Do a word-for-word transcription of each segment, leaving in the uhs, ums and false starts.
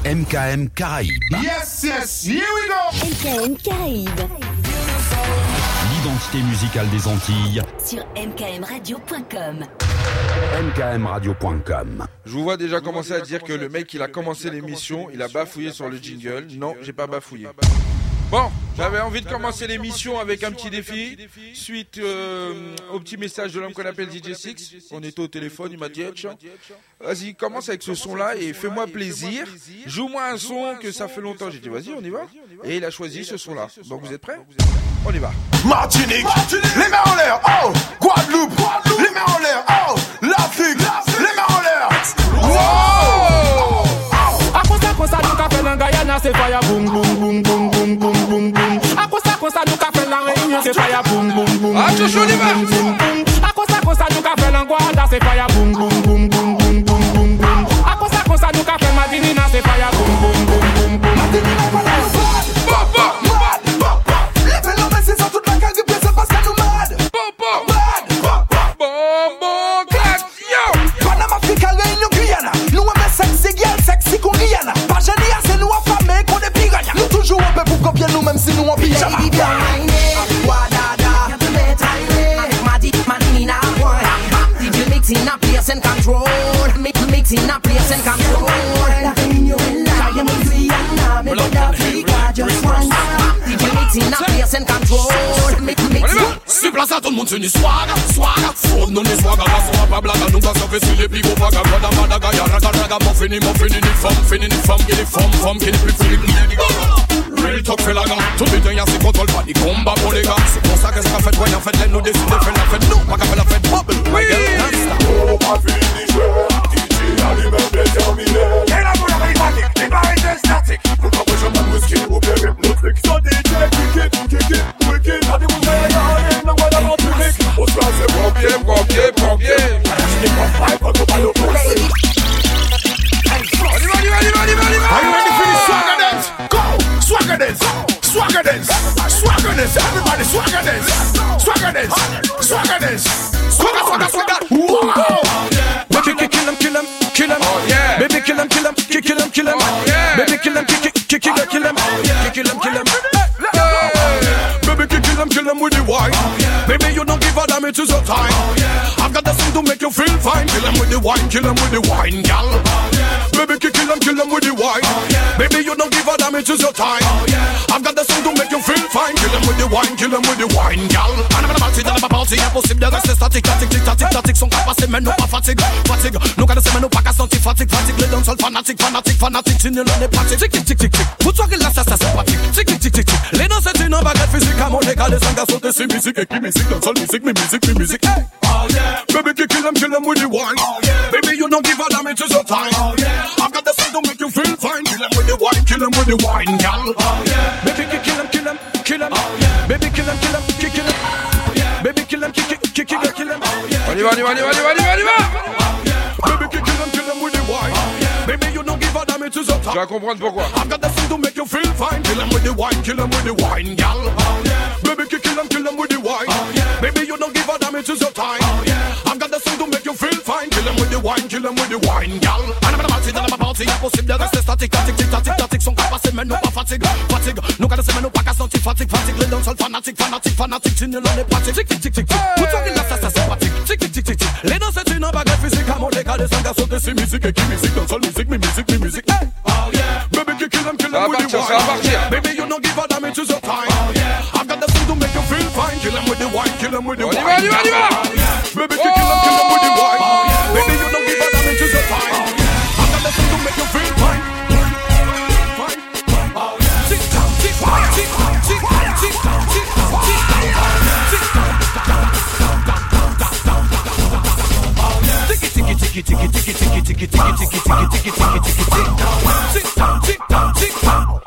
M K M Caraïbes. Yes, yes, here we go. M K M Caraïbes. L'identité musicale des Antilles sur m k m radio point com. m k m radio point com. Je vous vois déjà commencer à dire que le mec il a commencé l'émission, il a bafouillé sur le jingle. Non, j'ai pas bafouillé. Bon, j'avais envie de commencer l'émission avec un petit défi. Suite euh, au petit message de l'homme qu'on appelle D J Six. On était au téléphone, il m'a dit « Vas-y, commence avec ce son-là et fais-moi plaisir. Joue-moi un son que ça fait longtemps. » J'ai dit « Vas-y, on y va ?» Et il a choisi ce son-là. Donc vous êtes prêts ? On y va. Martinique, les mains en l'air, oh. Guadeloupe, les mains en l'air, oh. L'Afrique, les mains en l'air. Wow. Akosa kosa nou ka fè lan Guyana c'est fire boom boom boom boom boom boom boom boom. Akosa kosa nou ka fè lan Réunion c'est fire boom boom boom. Ah tu joues les Akosa kosa nou ka fè lan Guada c'est fire boom boom boom boom boom boom boom boom. Akosa kosa nou ka fè Madinina c'est fire boom boom boom boom boom. Madinina voilà. Papa, mad, papa. Les phénomènes c'est ça toute la gang de c'est parce que nous mad. Papa, mad, papa. Bombo clap, yo. Panama, Africa, Réunion, Guyana. Nous aimons sexy girl, sexy qu'on Rihanna. Pas génie, c'est nous affamés qu'on est piranha. Nous toujours un peu pour copier nous même si nous en pyjama. Baby, bien whiné, Guadada, y'a de mettre à Madi, Madinina, one. Did you mix in a place and control? Mix, mix in a place and control. La Réunion est là, y'a mon Guyana, mais de l'Afrique, just one. Did you mix in a place and control? Mix, mix in. Si place à tout le monde c'est une swag, swag. Faut non les swag, la soirée pas blague. Nous va se faire sur les pigots, vaga, vaga, vaga, ya, raga, raga, mon fini, mon fini, ni femme, fini, ni femme, qui ni femme, femme, qui ni plus fini, ni gaga. Real talk fait la gare, tout le temps y'a ses contrôles, pas des combats pour les gars. C'est pour ça que ça fait, ouais, en fait, les nous décident de faire la fête, nous, pas qu'à faire la fête, bubble, my girl, non-stop. Oh, ma fille, D J, allumez bien terminé. Et la boule rythmique, les barres statiques. Pour pas que je m'en whisky, ou bien hypnotique. So D J, kick it, kick it, wicked. T'as des bouteilles à aller, non, voilà, mon public. Au soir, c'est pompier, pompier, pompier. Je n'ai pas faille, pas de balle au pouce. On y va, on y va, on y va, on y va, on y va. Are you ready for the swagger dance? Go! Swagger dance! Swagger dance! Swagger dance! Everybody swagger dance! Swagger dance! Swagger dance! Swagger, swagger, swagger! Wow! Baby kill him, kill him, kill him. Oh yeah. Baby kill him, kill him, kill kill him, kill him. Oh yeah. Baby kill him, kill kill kill kill him, kill him, kill him. Baby kill him, kill him with the wine. Baby you don't give a damn, it is your time. I've got the thing to make you feel fine. Kill him with the wine, kill him with the wine, gal. Baby kill him, kill him with the wine. Baby you don't give a damn, it is your time. I've got the thing to make you feel fine. Kill him with the wine, kill him with the wine, gal. And I'm party, dans la party, impossible de rester statique, statique, tic, tatic, tatic, sont capables, mais nous pas fatigue, fatigue. Nous quand c'est mais nous pas qu'à sentir fatigue, fatigue. Les danseurs fanatiques, fanatiques, fanatiques, si nous l'on est pratique. Tic, tic, tic, tic, tic. Vous soirez là, ça, ça c'est pratique. Tic, tic, tic, tic, tic. Les danseurs c'est une baguette physique, à mon égal, les sangs à sauter, c'est musique, et qui musique, danseur musique, mais musique, mais musique. Hey. Oh yeah. Baby, kill them, kill them with the wine. Oh yeah. Baby, you don't give a damn, it is your time. Oh yeah. I've got the thing to make you feel fine. Kill them with the wine, kill them with the wine, gal. Oh yeah. Baby, kill them, kill them, kill them. Oh yeah. Baby, kill them, kill them, kill kill them. Oh yeah. Baby, kill them, kill kill kill kill kill them. Oh yeah. On y va, on y va, on y va, on y va, on y va, on y va. Baby, kill them, kill them with the wine. Oh yeah. Baby, you don't give a damn, it is your time. Tu vas comprendre pourquoi. I've got the thing to make you feel fine. Kill them with the wine, kill them with the wine, gal. Oh yeah. Baby, kill them, kill them with the wine. Oh yeah. Baby, you don't give a damn, it is your time. Oh yeah. I've got the thing to make you feel fine. Kill them with the wine, kill them with the wine, gal. And I'm party, dans la party, impossible de rester statique, statique, tic, tatic, tatic, sont capables, mais nous pas fatigue, fatigue. Nous quand c'est mais nous pas qu'à sentir fatigue, fatigue. Les danseurs fanatiques, fanatiques, fanatiques, si nous l'on est pratique. Tic, tic, tic, tic, tic. Vous soirez là, ça, ça c'est pratique. Tic, tic, tic, tic, tic. Les danseurs c'est une baguette physique, à mon égal, les sangs à sauter, c'est musique, et qui musique, danseur musique, mais musique, mais musique. Hey. Oh yeah. Baby, you kill them, kill them with the wine. Ça va partir. Baby, you don't give a damn, it is your time. Oh yeah. I've got the thing to make you feel fine. Kill them with the wine, kill them with the wine. On y va, on y va, on y va. Baby, you kill them, kill them with the wine. Baby, you don't give a damn, it is your time. I've got the thing to make you feel fine. Fine. Oh yeah. Tick tock, tick tock, tick tock, tick tock, tick tock, tick tock, tick tock. Ticky ticky ticky ticky ticky ticky ticky ticky ticky ticky ticky ticky ticky tick tock, tick tock, tick tock.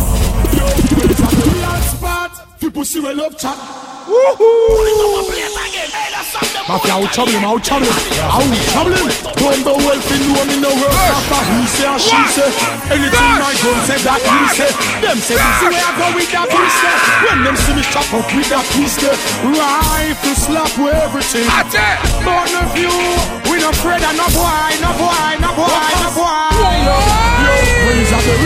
Pussy well love chat. Woohoo! Mafia out trouble, out trouble, out trouble. Don't go well for no me no work after he say and she say. Anything my gun say that he say. Them say this way I go with that pistol. When them see me chop up with that pistol, rifle slap with everything. Born of you, we no afraid of no boy, no boy, no boy, no boy. Yo, praise of the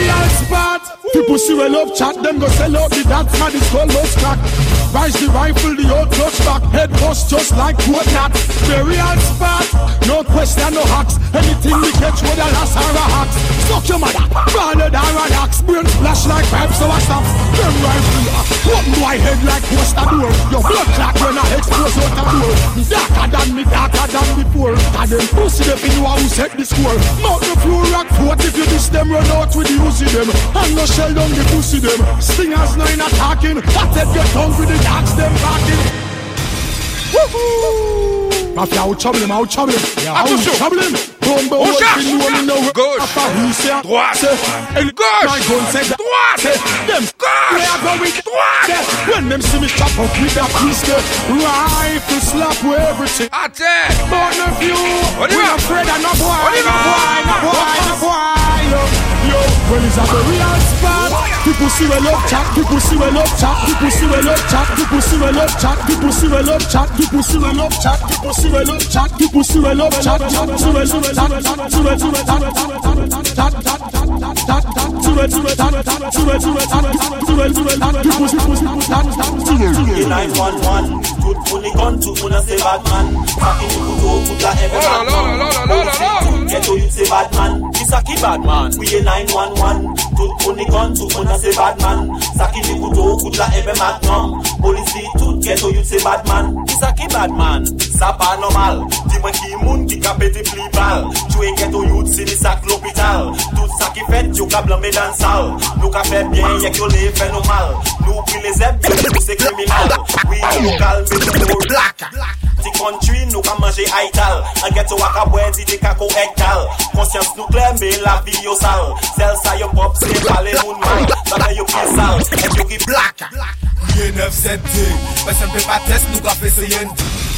People see we love chat, them go sell out the dance man, it's called love crack. Rise the rifle, the old clutch back, head bust just like what not. Burial spot, no question, no hacks. Anything we catch with a lass or a hacks. Suck your mother, ballad or an axe. Brain splash like pipes so I stop. Them rifle, open my head like poster door. Your blood clot when I expose out the door. Me darker than me, darker than before. And them pussy them in who set the score. Mount the floor, rock foot if you miss them, run out with the Uzi them. And no shell down the pussy them. Stingers no in attacking. I take your tongue with the dogs them backing. Woohoo! Mafia, out trouble him, out trouble him. Yeah, out trouble him. Bombe, on cherche. Gauche, droite, gauche, droite, them gauche, droite. When them see me chop up with that pistol, rifle slap with everything. Attack. Born of you, on y we va. afraid of no boy, On y no va. boy, no boy, no boy. Yo, yo, when it's at the real spot, people see we love chat, people see we love chat, people see we love chat, people see we love chat, people see we love chat, people see we love chat, people see we love chat, people see we love chat, see we see we chat, see we see we chat, chat, chat, chat, chat, chat, see we see we chat, see we see we chat, see we see we chat, people see we chat, see we see we nine one one, good money gun to una say bad man. Fucking you go put la every man. Oh la la la la la. Get to you say bad man. This a key bad man. We a nine one one, good money gun to una say bad man. Saki ni kuto put la every magnum. Police tout get to you say bad man. This a key bad man. Ça pas normal. Dis-moi qui moun qui ka pété pli bal. Tu es get to you c'est des sacs l'hôpital. Tout ça qui fait tu ka blâmer dans salle. Nous ka fait bien y'a que les fait nous mal. Nous pris les aides nous c'est criminel. Oui nous calme nous black. Ti country nous ka manger haital. En get to waka boy dit te kako hectal. Conscience nous claire mais la vie yo sale. Celle ça yo pop c'est pas les moun mal. Ça fait yo pied sale. Et yo qui black. huit neuf sept deux, personne peut pas test, nous qu'a fait ce yen.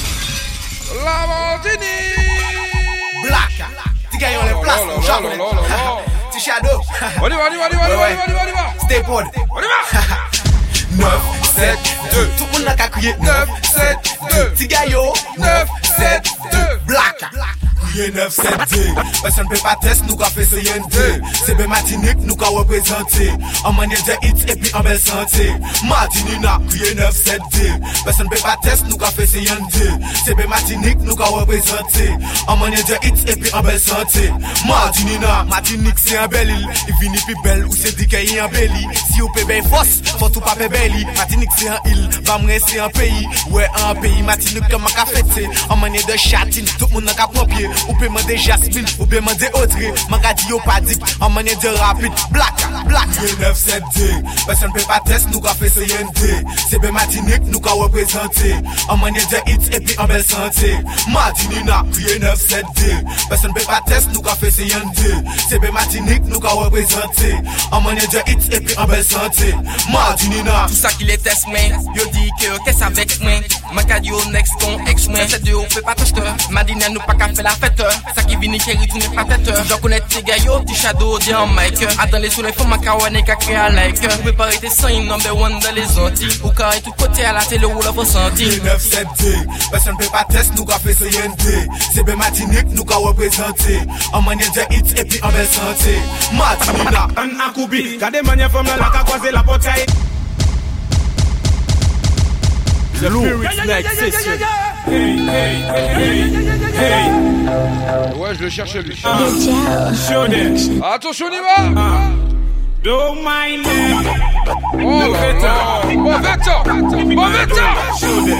La Martini. Black. Ti gagne les places, nous jamais. Ti shadow. On y va, on y va, on y va, on y va, on y va, on y va. Stay pod. On y va. neuf sept deux. Tout le monde a qu'à crier neuf sept deux. Ti gayo neuf sept deux. Black. huit neuf sept deux. Personne peut pas test, nous qu'a fait ce yen deux. C'est bien Martinique, nous qu'a représenté. En manière de hit et puis en belle santé. Martinina, huit neuf sept deux. Personne peut pas test, nous qu'a fait ce yen deux. C'est bien Martinique, nous qu'a représenté. En manière de hit et puis en belle santé. Martinina, Martinique c'est un bel île. Il finit plus belle ou c'est dit qu'il y a un bel île. Si vous payez force, faut tout pas payer belle île. Martinique c'est un île, Bamre c'est un pays. Ouais, un pays, Martinique comme un café. En manière de chatine, tout le monde a qu'à pompier. Ou peut demander Jasmine, ou peut demander Audrey. Magadi ou pas dit, en manière de rapide. Black, black. huit neuf sept deux. Personne peut pas test, nous qu'a fait ce yen deux. C'est bien Martinique, nous qu'a représenté. En manière de hit et puis en belle santé. Martinina, huit neuf sept deux. Personne peut pas test, nous qu'a fait ce yen deux. C'est bien Martinique, nous qu'a représenté. En manière de hit et puis en belle santé. Martinina. Tout ça qui les teste, mais yo dit que qu'est-ce avec moi. Magadi au next con ex moi. C'est deux, on fait pas tester. Madina nous pas qu'à faire la fête. Ça qui vient qui retourne pas tête. J'en connais tes gars yo, petit shadow, dit en mic. Attendez sur les fonds, ma cawane qu'a créé un like. Vous pouvez pas arrêter sans une number one dans les Antilles. Ou carré tout côté à la télé ou la ressenti. huit neuf sept deux. Personne peut pas test, nous qu'a fait ce yen deux. C'est bien Martinique, nous qu'a représenté. En manière de hit et puis en belle santé. Martinina. Un akoubi, gardez manière femme là, la qu'a croisé la portail. The Spirit Next Session. Hey, hey, hey, hey. Ouais, je le cherche lui. Show them. Attention, on y va. Don't mind them. Oh, Veta. Bon Veta. Bon Veta. Show them.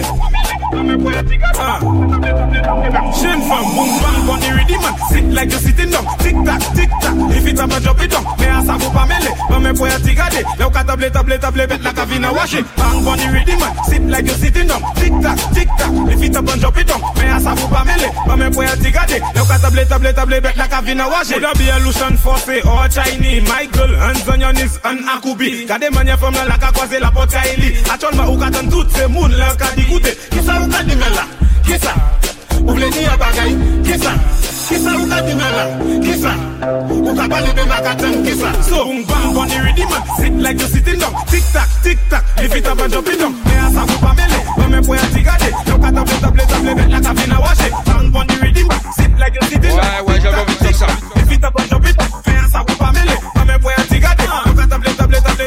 Shin from boom bang on the rhythm man. Sit like you sitting down. Tick tack, tick tack. If it up and drop it down. Me a sa pas mêler. Pas me pour tigade. Là ka table table table bet la ka vina wash it. Bang on the rhythm man. Sit like you sitting down. Tick tack, tick tack. If it up and drop it down. Me a sa pas mêler. Pas me pour tigade. Là ka table table table bet la ka vina wash it. Could be a Lucian Force or Chinese. Michael hands on your knees and akubi. Gade mania from la ka croiser la porte Kaili. Actuellement ou ka tan tout c'est moun la ka dikoute. Qui ça ou ka di mela? Qui ça? Ou vle di a bagay? Qui ça? Qui ça ou ka di mela? Qui ça? Ou ka parler de la katan? Qui ça? So boom bang on the rhythm man. Sit like you sitting down. Tic tac, tic tac. If it up and jump it down. Me a sa pou pa mele. Pas me pour tigade. Yo ka table table table bet la ka vina wash it. Bang on the rhythm man. Sit like you sitting down. Ouais, ouais, j'avais envie de dire ça. If it up and jump it down. Me a sa pou pa mele. Pas me pour tigade. Yo ka table table table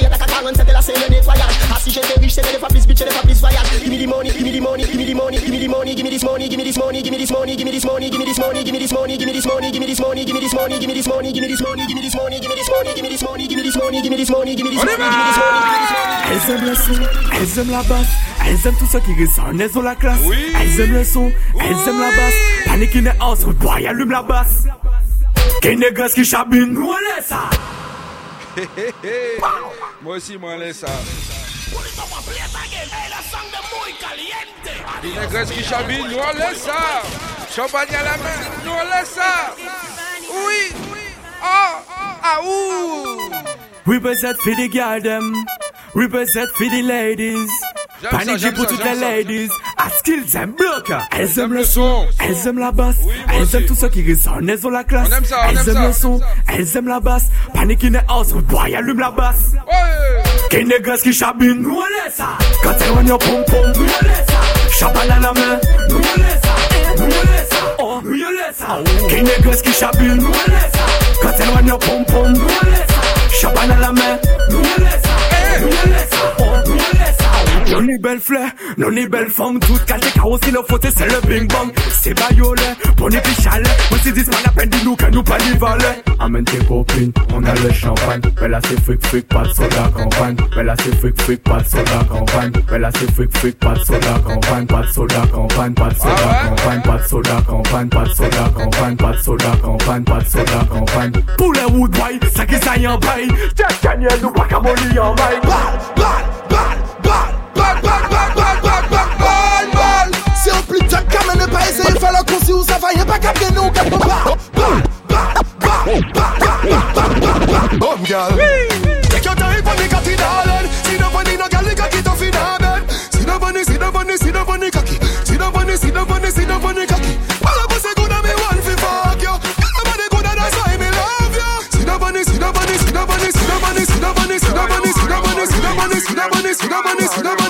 money, give me this money, give me this money, give me this money, give me this money, give me this money, give me this money, give me this money, give me this money, give me this money, give me this money, give me this money, give me this money, give me this money, give me this money, give me this money, give me this money, give me this money, give me this money, give me this money. Elles aiment le son, elles aiment la basse, elles aiment tout ce qui ressort, elles ont la classe. Elles aiment le son, elles aiment la basse. Panique in the house, good boy, allume la basse. Qu'est des gosses qui chabinent, nous on laisse ça. Moi aussi, moi on laisse ça. Des négresses qui chabinent, nous on laisse ça. Champagne à la main, nous on laisse ça. Oui, oh, ah ouh. Represent for the girl them, represent for the ladies. Panique pour toutes les ladies, à skills and blocker. Elles aiment le son, elles aiment la basse, elles aiment tout ce qui ressonne, elles ont la classe. Elles aiment le son, elles aiment la basse. Panique in the house, good boy, allume la basse. Qu'est des gosses qui chabinent, nous on laisse ça. Quand elles ont your pom pom, nous on laisse ça. Champagne à la main, nous on laisse ça. Nous on laisse ça, oh, nous on laisse ça. Qu'est des gosses qui chabinent, nous on laisse ça. Quand elles ont your pom pom, nous on laisse ça. Champagne à la main, nous on laisse ça. Nous on laisse ça, oh, nous on laisse ça. Non ni belle fleur, non ni belle femme. Toute qualité carrosserie, le faute c'est le bing bang. C'est baïolé, bon et puis chalet. On s'est dit, c'est la peine de nous que nous pas n'y valer. Amène tes copines, on a le champagne. Mais là c'est fric fric, pas de soda campagne. Mais là c'est fric fric, pas de soda campagne. Mais là c'est fric fric, pas de soda campagne. Pas de soda campagne, pas de soda campagne. Pas de soda campagne, pas de soda campagne. Pas de soda campagne, pas de soda campagne. Pour les woodboy, ça qui ça y en bail. Jack Daniel, nous pas qu'à molly en bail. Bal, bal, bal, bal. Bal, bal, bal, bal, bal, bal, bal, bal. Si on plus de temps qu'à ne pas essayer, faire le concis où ça va, y'a pas qu'à bien nous, qu'à pas. Bal, bal, bal, bal, bal, bal, bal, bal. Bon, gal. Take your time for the cocky, darling. See the money, no gal, the cocky to feed them. See the money, see the money, see the money, cocky. See the money, see the money, see the money, cocky. All of us are good at me, one for fuck you. Everybody good at that's why me love you. See the money, see the money, see the money, see the money, see the money, see the money, see the money, see the money, see the money, see the money, see the money.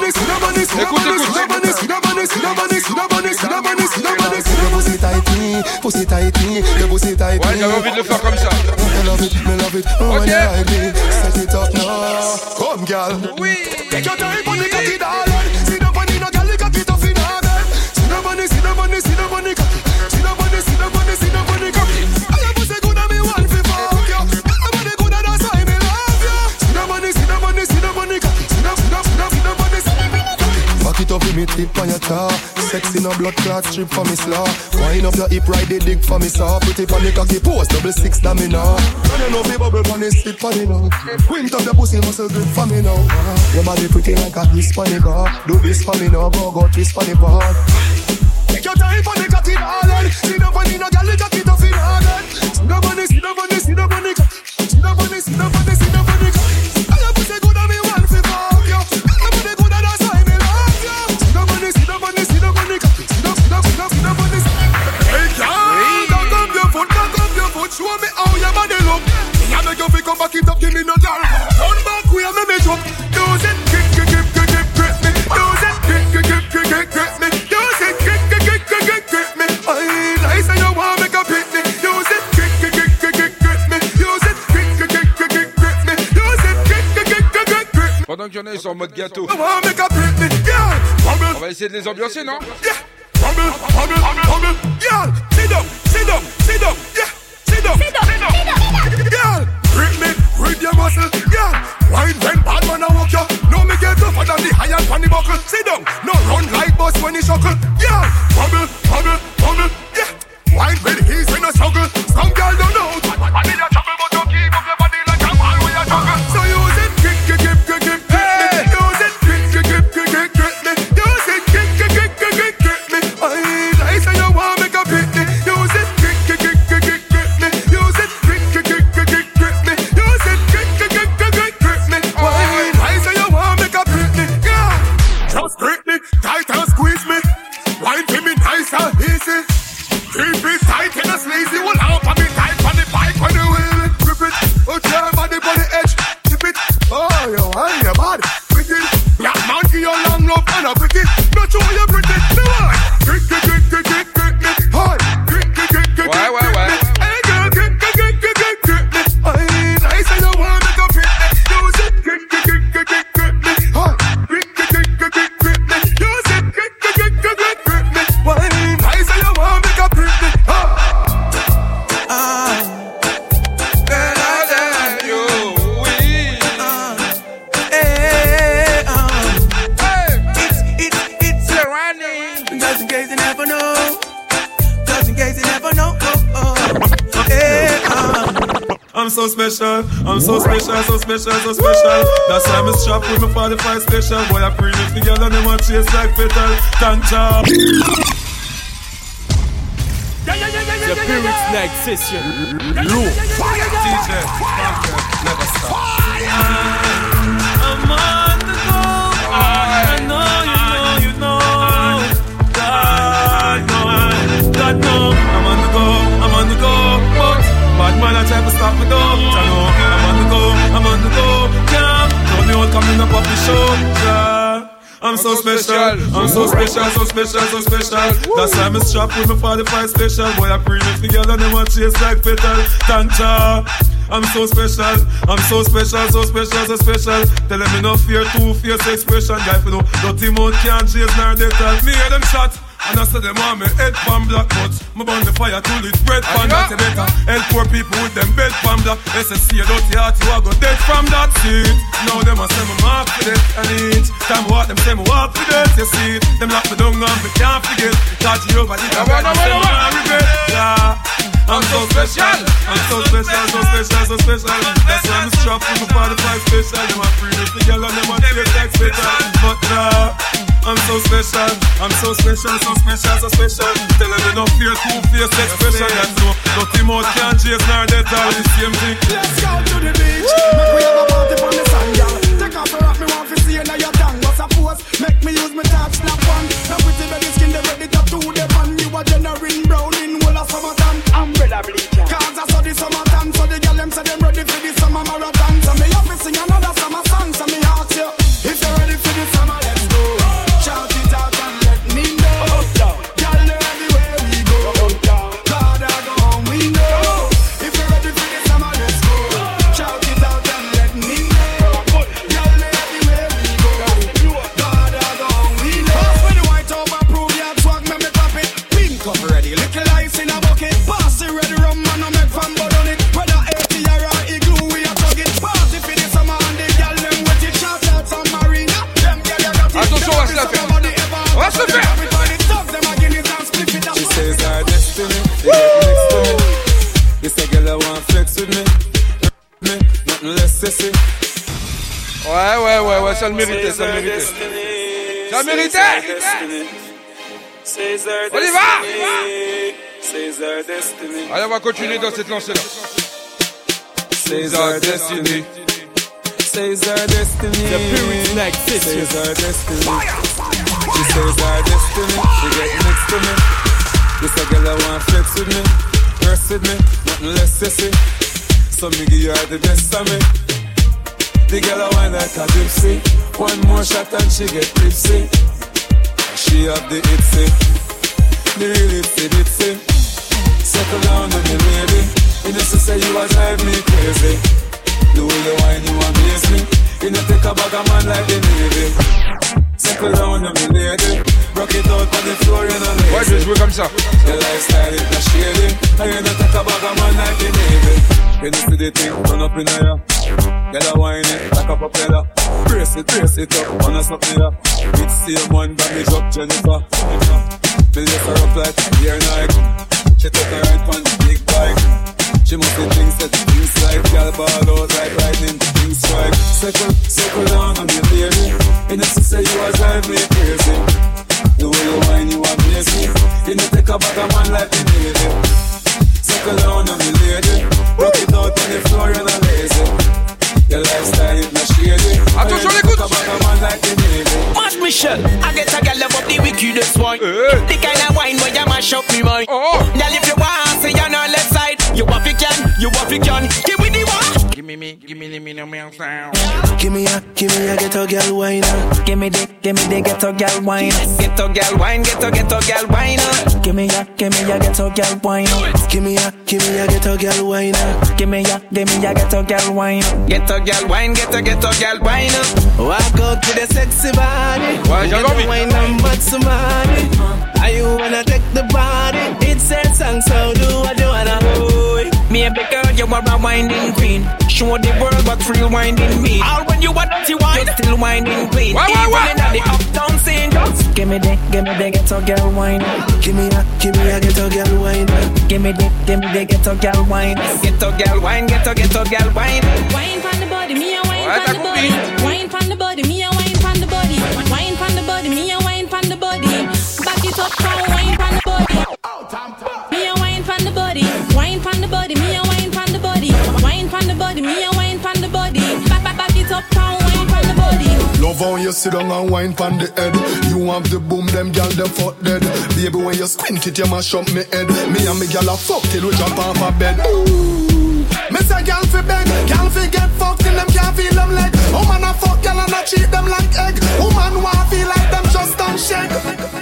Ouais, j'avais envie de le faire comme ça. Come, girl. Oui. Take your time on the cocky, darling. See the money, no girl, the cocky tough in her bed. See the money, see the money, see the money, cocky. See the money, see the money, see the money, cocky. All of us are good at me, one for fuck you. Everybody good at that's why me love you. See the money, see the money, see the money, cocky. See the, see the, see the, see the money, see the money, cocky. Back it up with me tip on your jaw. Sexy no blood clot strip for me slaw. Wind up your hip, ride the dick for me saw. Put it on the cocky pose, double six that me now. Run you know be bubble on the stick for me now. Quint up your pussy muscle grip for me now. Your body pretty like a kiss for me car. Do this for me now, go go twist for the bar. Take your time for the cocky darling. See the money, no girl, the cocky tough in her head. See the money, see the money, see the money cocky. See the money, see the money, see the money cocky. All your pussy good and me want to fuck you. Everybody good and that's why me love you. See the money, see the money, see the money cocky. See the, see the, see the, see the money. Hey girl, cock up your foot, cock up your foot. Show me how your body look. Me a make you feel come back it up, give me no girl. Turn back, we a make me jump. Use it, kick, kick, kick, kick, kick, kick me. Use it, kick, kick, kick, kick, kick, kick me. Use it, kick, kick, kick, kick, kick, kick me. I like say you want make a pit me. Use it, kick, kick, kick, kick, kick, kick me. Use it, kick, kick, kick, kick, kick, kick me. Use it, kick, kick, kick, kick, kick, kick me. Pendant qu'il y en a, ils sont en mode gâteau. You want make a pit me, girl. On va essayer de les ambiancer, non? Yeah. Bubble, bubble, bubble, girl. Sit down, sit down, sit down, yeah. Sit down, sit down, sit down, girl. Grip me, grip your muscle, girl. Wine when bad man a walk you. No me get tougher than the iron pan the buckle. Sit down, no run like bus when he shuckle, girl. Bubble, bubble, bubble, yeah. Wine when he's in a struggle. Some girl don't know. I need a trouble, but you keep up your body like a ball with a juggle. So use it, kick, kick, kick, kick, kick, kick. Use it, kick, kick, kick, kick, kick, kick. Use it, kick, kick, kick, kick, kick, kick. I like say you want make a pit me. Use it, kick, kick, kick, kick, kick, kick me. Use it, kick, kick, kick, kick, kick, kick me. Use it, kick, kick, kick, kick, kick, kick me. I like say you want make a pit me. Yeah, just grip me, tight and squeeze me. Wine to me nice and easy. Keep it tight and a sleazy. Will help me tight on the bike when you wheel it. Grip it, put your body on the edge. Tip it, oh you want your body. Pretty, black man give you long love and a pretty. Not sure you pretty, no one. Grip, grip, grip, grip, grip, grip me. Hi, grip, grip, grip, grip, Ouais, ouais, ouais. hey girl, grip, grip, grip, grip, grip, grip me. I like say you want me to grip me. Use it, grip, grip, grip, grip, grip, grip me. Hi, grip, grip, grip, grip, grip, grip me. Use it, grip, grip, grip, grip, grip, grip me. just in case you never know. Just in case you never know. Oh, oh. Hey, uh. I'm so special, I'm so special, so special, so special. That's why I'm strapped with my forty-five special. Boy, I bring it together and they want chase like petal. Tanja. The Pyrrhic Night Session. Low fire. D J, never stop. I'm on the go. I know, you know, you know. God, no, God, no. I'm on the go, I'm on the go. But bad man, I try to stop me though. I know, I'm on the go, I'm on the go. Yeah, told me what coming up off the show. Yeah. I'm so special, I'm so special, so special, so special. That's why I'm strapped with my forty-five special. Boy, I bring it together and they want chase like petal. Tanja, I'm so special, I'm so special, so special, so special. Tell them me no fear, two fierce expression. Guy for no dirty mouth can't chase nor they tell me hear them shot. And I said them want me head pan black, but me burn the fire till it's bread pan. That's better. Help poor people with them bed pan black. S S C a dirty heart, you a go dead from that seat. Now them a say me mark for that and each time walk them say me walk for that. You see it, them lock me down and me can't forget. Touch you over the top and say me can't regret. Yeah, I'm so special, I'm so special, so special, so special. That's why I'm strapped with my forty-five special. Them a free this the girl and them a take like special. But uh, I'm so special, I'm so special, so special, so special. Tell them they don't fear two-faced expression. That's no, dirty mouth can't chase nor dead all the same thing. Let's go to the beach, make we have a party from the sun, y'all. Take off your rock, me want to see you now your tongue. What's a pose, make me use my touch, snap one. Now pretty belly skin, they ready to do the fun. You a generating brown in whole of summertime. Umbrella bleacher. Cause I saw the summertime, so the girl them say them ready for the summer marathon. So me have to sing another summer song, so me ask you, if you're ready for the summer, let's go. Shout it out and let me know. Girl, everywhere we go. God, I go home, we know. If you're ready for the summer, let's go. Shout it out and let me know. Girl, everywhere we go. God, I go home, we know. Pass me the white over, prove your swag, make me pop it. Pink up ready, little ice in a bucket. Pass the red rum, man, I make fun, but on it. Whether eighty or igloo, we are talking. Party for the summer and the girl, them with it. Shout out some marina. Them girl, you got it. Attention, on va se la faire. On va se faire. She says our destiny, she get next to me. This a girl I want flex with me, me, nothing less sissy. Ouais, ouais, ouais, ouais, ça le méritait, ça le méritait. Ça le méritait. On y va. Allez, on va continuer dans cette lancée-là. Says our destiny. Says our destiny. The Pyrrhic Night Session. Says our destiny. She says our destiny. She get next to me. This a girl I want flex with me, rest with me, nothing less sissy. So me give her the best of me. The girl I want like a gypsy. One more shot and she get tipsy. She have the itsy, the real itsy bitsy. Settle down on me lady. You know she say you a drive me crazy. The way you whine you amaze me. You know take a bag of man like the Navy. Settle down on me lady. Rock it out on the floor, you know lazy. Ouais, je vais jouer comme ça. Your lifestyle is not shady. And you know take a bag of man like the Navy. You know see the thing, turn up in here. Get a wine it, like a propeller. Brace it, brace it up, wanna something there. It's same one, damage up Jennifer. Bill just her up like here Nike. She took her right on the big bike. She must be things that things like girl ball out like lightning, things strike. Circle, circle down on your lady. You know she say you a drive me crazy. The way you whine you amaze me. You know take a bag of man like the Navy. Circle down on me lady. Rock it out on the floor, you're not lazy. Your lifestyle is not shady. Attention l'écoute. March Michel, I get a girl above the wickedest one. The kind of wine where you mash up me mind. Girl if you want, say you're on left side. You want you can, you want you can. Give me the one. Give me me, give me the me no me sound. Give me a, give me a ghetto girl wine. Give me the, give me the ghetto girl wine. Ghetto girl wine, ghetto ghetto girl wine. Give me a, give me a ghetto girl wine. Give me a, give me a ghetto girl wine. Give me a, give me a ghetto girl wine. Ghetto girl wine, ghetto ghetto girl wine. Walk out to the sexy body. Ouais, j'ai envie. Wine and mad somebody. Are you wanna take the body? It's a song, so do what you wanna. Me a big girl, you are a winding queen. show the world what real winding mean. All when you a dirty wine, you still winding clean. Why, why, why? Even in the uptown scene, just give me the, give me the ghetto girl wine. Give me a, give me a ghetto girl wine. Give me the, give me the ghetto girl wine. Ghetto girl wine, ghetto ghetto girl wine. Wine from the body, me a wine from the body. Wine from the body, me a wine from the body. Wine from the body, me a wine from the body. Back it up, come wine from the body. Me a wine from the body. Wine from the body, me a wine from the body. Wine from the body, me a wine from the body. Back back back it up, come wine from the body. Love how you sit down and wine from the head. You have the boom, them gal them fuck dead. Baby when you squint it, you mash up me head. Me and me gal a fuck till we jump off a bed. Ooh. Me say gal fi beg, gal fi get fucked till them can't feel them leg. Woman a fuck gal and a treat them like egg. Woman want feel like them just don't shake.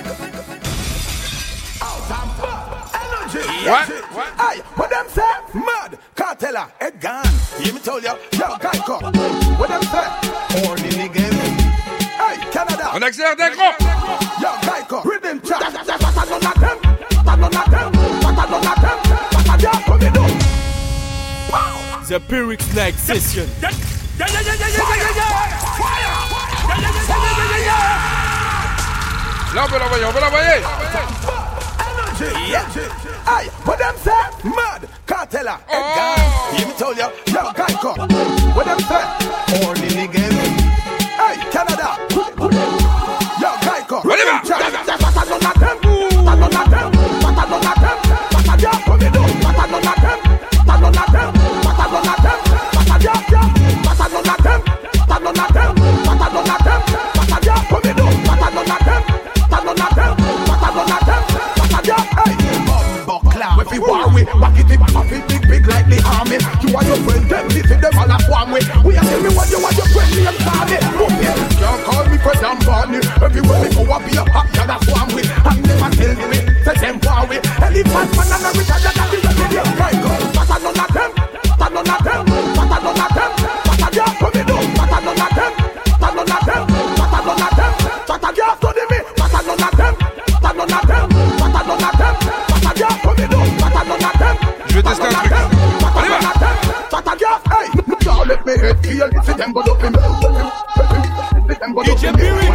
What? What? Aye, what them say? Mad, Cartella, head gone. Hear me tell you, yo, guy come. What them say? Only nigga. Hey, Canada. On accélère d'un grand. Yo, guy come. Rhythm track. Pata non a them. Pata non a them. Pata non a them. Pata dia come in. Wow. The Pyrrhic Snack Session. Yeah, yeah, yeah, yeah, yeah, yeah, yeah. Fire. Yeah, yeah, yeah, yeah, yeah, yeah. Là, on peut l'envoyer, on peut l'envoyer. Yeah. Aye, what them say? Mad, Cartella, head gone. Hear me tell you, yo, guy come. What them say? Only niggas. Hey, Canada. Yo, guy come. What them say? Pata non a them. Pata non a them. Pata non a them. Pata dia come in. Pata non a them. Pata non a them. Pata non a them. Pata dia dia. Pata non a them. Pata non a them. Pata non a them. Pata dia come in. Pata non a them. Pata non a them. Pata non a them. Pata dia. Hey. If you war with, back it up, back it big, big like the army. You want your friend, them, this is them all a form with. We are telling me what you want your friend, me and Tommy. Can't call me President Barney. Everywhere we go, I be a hot girl, that's what I'm with. And never tell me, say them far away. Elephant man and a rich, and that's the video. Right, go, pata none of them, pata none of them, pata none of them, pata dia, come in, pata none of them, pata none of them, pata none of them, pata dia, study me, pata none of them, pata none of them, pata none of them, pata dia, come in. Je vais tester un truc. Allez, va. Let me head kill if them go up in me. D J Pyrrhic.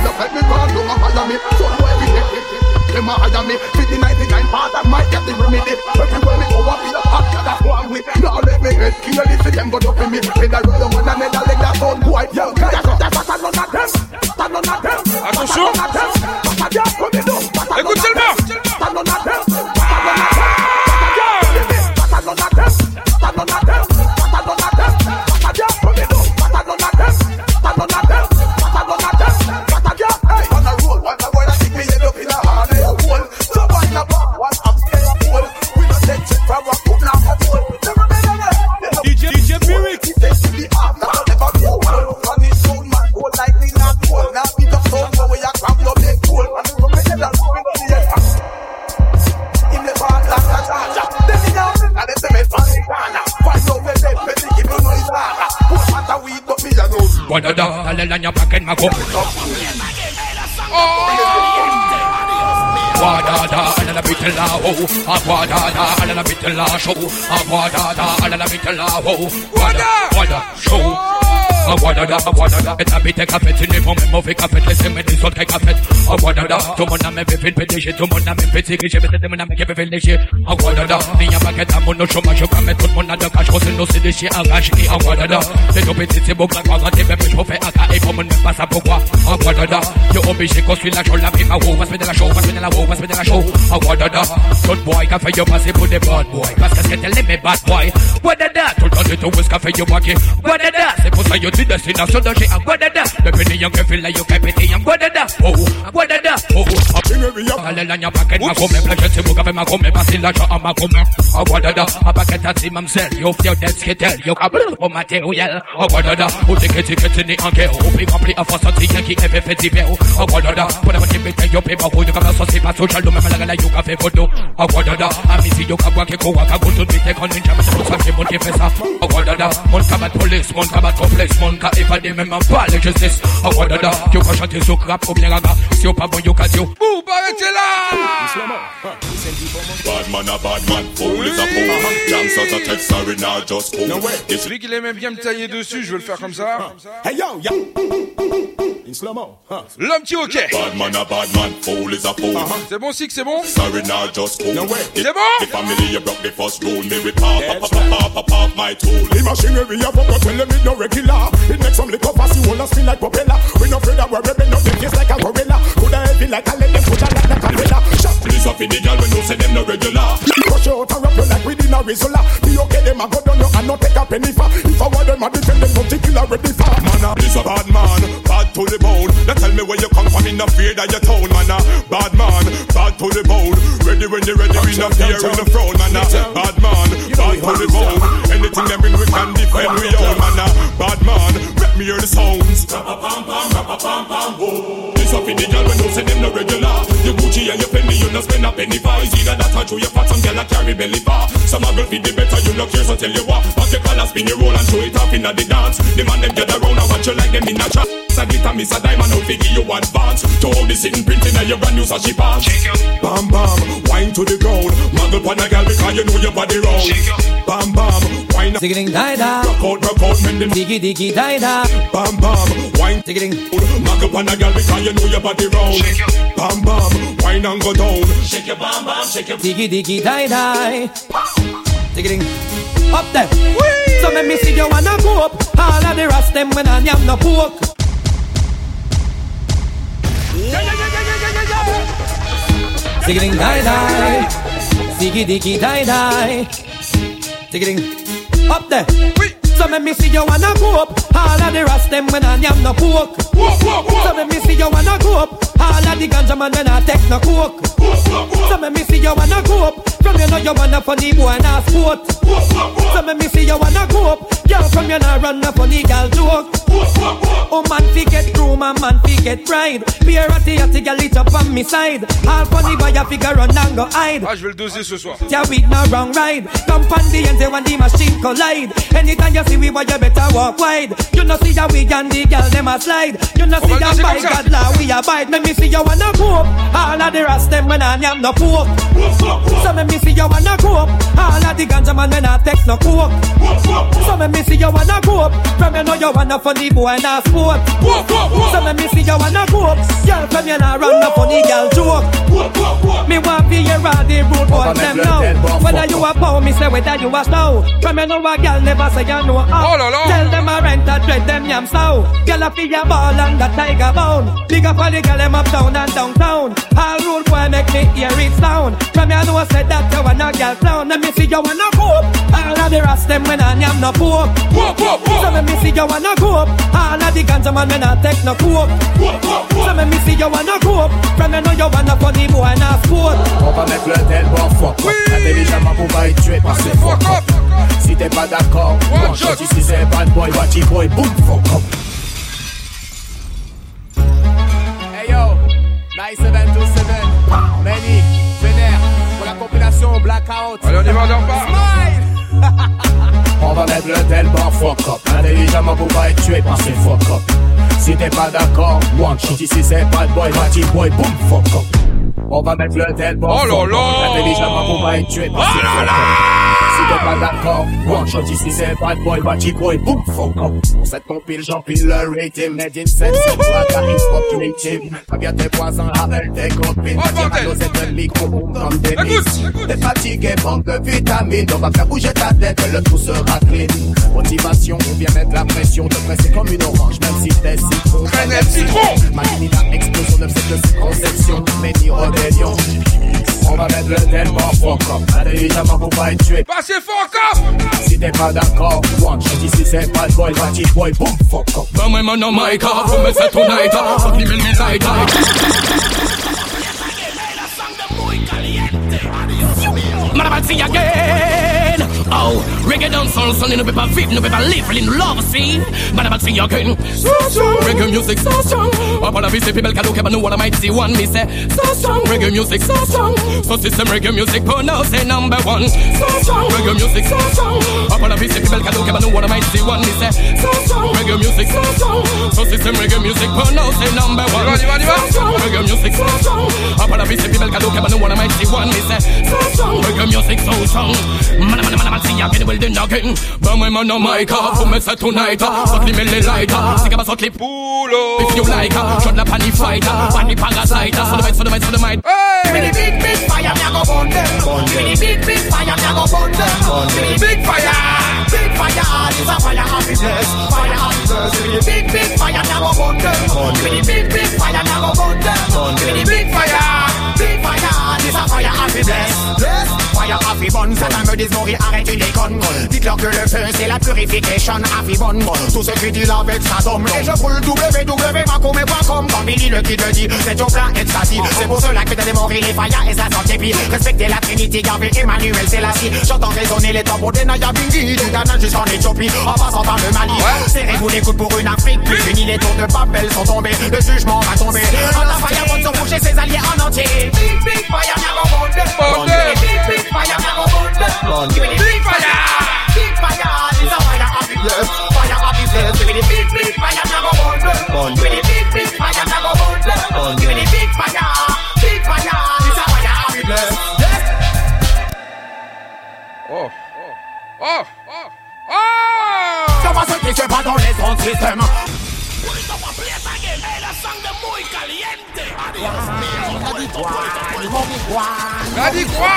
Them a hire me. fifty ninety-nine part of my get the remedy. Everywhere me go up in the hot cat that's one with. Now let me head kill if them go up in me. In the road one another leg that sound white. Yo, guys, that's none of them. That's none of them. Attention. Écoute seulement. That's none of them. Guadada, dale la ñapa que me come. Guadada, alla la bitella ho. Guadada, alla la bitella show. Guadada, alla la bitella ho. Guada, guada show. Guadada, guadada, et habite café, tu n'es pas même mauvais café, laissez-moi des autres cafés. Guadada, tout le monde a même fait le P D G, tout le monde a même fait le P D G, mais tout le monde a même fait le P D G. Guadada, il y a pas qu'à ta mono chômage, je vais mettre tout le monde à deux caches, c'est nos C D G, arrache et Guadada. Les deux petits, c'est beau, grand, grand, t'es même, je refais A K et pour moi, même pas ça pourquoi. Guadada, t'es obligé qu'on suit la show, la prime à haut, va se mettre la show, va se mettre la haut, va se mettre la show. Guadada, tout boy, qu'a fait yo passer pour des bad boys, parce que c'est qu'elle aime mes bad boys. Guadada, tout le temps de tout, où est-ce qu'a fait yo braquer. Guadada, c'est pour ça yo dis destination de chez Guadada. Depuis les young que feel like you can péter en Guadada. Oh, Guadada, oh, allez la ñapa qu'elle m'a commis, plein je sais vous qu'avez m'a commis, passer l'argent à ma commis. Oh, Guadada, à paquet à si mamsel, yo fier d'être skater, yo câble au matériel. Oh, Guadada, ou t'es que t'es que t'es né en guerre, ou puis rempli à force anti qui est fait fait d'hiver. Oh, Guadada, pour la moitié bête, yo paie barreau, yo comme ça c'est pas social, même la gala yo café photo. Oh, Guadada, ami si yo kabwa qui koua, kabou tout vite, qu'on ninja, mais c'est pour ça que c'est mon qui fait ça. Oh, Guadada, mon cabat police, mon cabat complexe, mon cas évadé même en pas les justice. Oh, Guadada, yo quand chanter sur rap ou bien raga, si yo pas bon yo cadio. Ouh, arrêtez là! Bad man a bad man, fool is a fool. Gangsters a text sorry now just cool. Celui qui aimait bien me tailler dessus, je vais le faire comme ça. Hey yo, yo. In slow-mo. L'homme qui ok. Bad man a bad man, fool is a fool. C'est bon, Six, c'est bon. Sorry now just cool. C'est bon. The family you broke the first rule. Me with pop, pop, pop, pop, pop, my tool. The machinery you fuck up, tell them it no regular. It makes some liquor fast, you wanna spin like propeller. We no afraid that we're ripping up them face like a gorilla. Coulda heavy like a let them put like a caterpillar. Police up in the girl when no say them no regular. Push you out and wrap you like within a Rizzola. Be okay, them a go down you and not take a penny for. If I want them a defend them, don't take killer ready for. Man a is a bad man, bad to the bone. Now tell me where you come from, in no fear that you town. Man a bad man, bad to the bone. Ready when you ready, we no fear in the throne. Man a bad man, bad to the bone. Anything them bring we can defend we own. Man a bad man, let me hear the sounds. This up in the girl when no say them no regular. You Gucci and you penny, you no spend a penny for. Is either that or through your fat, some girl a carry belly bar. Some a girl feed the better, you no care, so tell you what. Back your collar, spin your roll and show it off in the dance. The man them gather round and watch you like them in a chat. I get a miss a diamond out figure you advance. To all the sitting printing and your brand new sashi pants. Bam bam, wine to the ground. Muggle pon a girl because you know your body round. Bam bam, wine. Ticketing die die. Rock out, rock out, mend them. Diggy diggy die die. Bam bam, wine. Ticketing. Muggle pon a girl because you know your body round. Bam bam, wine and go down. Shake your bam bam, shake your. Diggy diggy die die. Ticketing. Up there. Whee! So let me see you wanna go up. All of the rest them when I am no pork. Yeah, yeah, yeah, yeah, yeah, yeah, yeah. Ticketing die die. Diggy diggy die die. Ticketing. Up there. Whee! So let me see you wanna go up. All of the rest them when I am no pork. So let me see you wanna go up. All of the ganja man when I take no coke. So let me see you wanna go up. From you know you wanna funny boy and a sport. So let me see you wanna go up. Girl from you know run a funny girl joke. Oh man fi get room and man fi get pride. Be a ratty ratty girl it up on me side. All funny boy a figure run and go hide. Ah je vais le doser ce soir. Yeah we no wrong ride. Come on the end when the machine collide. Anytime you see we boy you better walk wide. You know see that we and the girl them a slide. You know see that by God law we abide. Let me see you wanna go up. All of the rest them when I am no pork. So let me see you wanna go up. All of the ganja man when I take no coke. So let me see you wanna go up. From you know you wanna funny boy and a sport. So let me see you wanna go up. Girl from you know run a funny girl joke. Me want be your all the rude boys them now. Whether you a power me say whether you a slow. From you know a girl never say you know how. Tell them a rent a dread them yam slow. Girl a feel your ball and the tiger bone. Big up for the girl them uptown and downtown. All rude boy make me hear it sound. From you know say that you wanna girl clown. Let me see you wanna go up. All of the rest them when I am no poor. So let me see you wanna go up. All of the ganja man when I take no coke. So let me see you wanna go up. From you know you wanna funny boy and a sport. On va mettre le tel bon fuck up. Intelligemment pour pas être tué par ce fuck up. Si t'es pas d'accord, one shot. Si c'est bad boy, watchy boy, boom fuck up. Hey yo, nine seven two seven, Manny, Vénère, pour la compilation Blackout. Allez on y va, on dort pas. Smile. On va mettre le tel bon fuck up. Intelligemment pour pas être tué par ce fuck up. Si t'es pas d'accord, one shot. Si c'est bad boy, watchy boy, boom fuck up. On va mettre le tel bon fuck up. Intelligemment pour pas être tué par ce fuck up. Si t'es pas d'accord, one shot ici c'est bad boy, watchy boy, boom, fuck up. Pour cette compile, j'empile le rating. Made in sept, c'est toi, ta hip-hop creative. Pas bien tes voisins avec tes copines. Tire à l'os et te micro, boom, comme des miss. T'es fatigué, manque de vitamines. On va faire bouger ta tête, le tout sera clean. Motivation, on vient mettre la pression. Te presser comme une orange, même si t'es citron. Canette citron. Manie la explosion de cette conception. Many rébellion. On va mettre le tel bon fuck up. Intelligemment pour pas être tué. Passez fuck up. Si t'es pas d'accord, one shot ici c'est bad boy, watchy boy, boom fuck up. But my man on my car, for me set tonight. Fuck me me light. Man about see again. Oh, reggae dancehall, son, no paper vive, no paper live, in love scene. Man about see again. So strong, reggae music so strong. Up on a visit, people can look up and know what I might see one. Me say, so strong, reggae music so strong. So system reggae music, but now say number one. So strong, reggae music so strong. Up on a visit, people can look up and know what I might see one. Me say, so strong, reggae music so strong. So system reggae music, but now say number one. So strong, reggae music so strong. Up on a visit, people can look up and know what I the mighty one. Me say, so strong, make your music so strong. Man, man, man, man, see ya get the building again. But my man, no mic up, for me say tonight. Suck the milli lighter, stick up a suck the pulo. If you like, shut up on the fighter, on the parasite. For the might, for the might, for the might. Give me the big, big fire, me a go burn them. Give me the big, big fire, me a go burn them. Give me the big fire, big fire, this a fire happiness, fire happiness. Give me the big, big fire, me a go burn them. Give me the big, big fire, me a go burn them. Give me the big fire, big fire, this a fire happiness. Yes, fire happy bonne, ça me dit mourir, arrête une déconne. Dites-leur que le feu c'est la purification, happy bonne. Tout ce qui dit avec sa dôme. Et je brûle w w w point com point com. Quand Billy le qui te dit, c'est ton plein ecstasy. C'est pour cela que t'as démoré les fire et ça sort puis respectez la Trinité, Yahvé, Emmanuel, Selassie. J'entends résonner les tambours des Naya Bingi, du Ghana jusqu'en Éthiopie, en passant par le Mali. Serrez-vous les coudes pour une Afrique plus unie, les tours de Babel sont tombés, le jugement va tomber. En la fire, vont se bouger ses alliés en entier. Big, big fire, y'a mon monde. Big, big fire, y'a mon monde. Give me the big fire. Big fire, this a fire happiness. Fire happiness. Give me the big, big fire, y'a mon monde. Give me the big, big fire, y'a mon monde. Give me the big fire. Big fire, this a fire happiness. Oh, oh, oh, oh, oh! Ça va ce qui se passe dans les ondes système. Daddy quoi?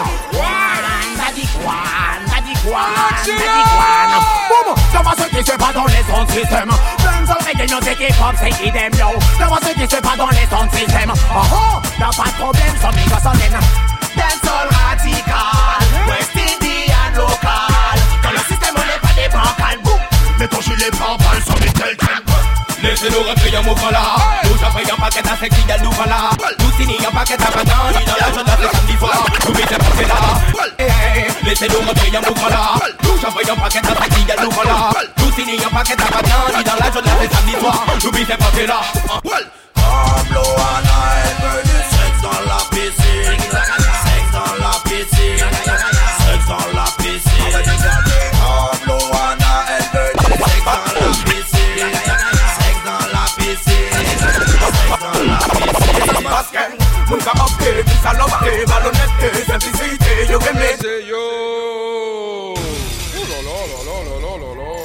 Ça va ce qui se passe dans les ondes système. Benz oreilles nos équipes pop c'est idem yo. Ça va ce qui se passe dans les ondes système. Oh oh, y'a pas de problème, son micro sonne. Dancehall radical, West Indian local. Dans le système on n'est pas des bancals. Boum, mais ton gilet pare-balles sur les tels tempo. Laissez-nous rentrer en mouvement là. Nous j'appelle un paquet à sexy à nous voilà. Nous signons un paquet à banane dans la journée de samedi soir. Nous mettez pas là. Laissez-nous rentrer en mouvement là. Nous j'appelle un paquet à sexy à nous voilà. Nous signons un paquet à banane dans la journée de samedi soir. Nous mettez pas là. Pablo Anaël, du sexe dans la piscine. Sexe dans la piscine. Sexe dans la piscine. Pablo Anaël, du sexe dans la piscine. Sexe dans la piscine. Sexe dans la piscine. Parce que mon cas opté, puis salopeté, malhonnêteté, simplicité, yo aimé. C'est yo. Oh là là là là là là là.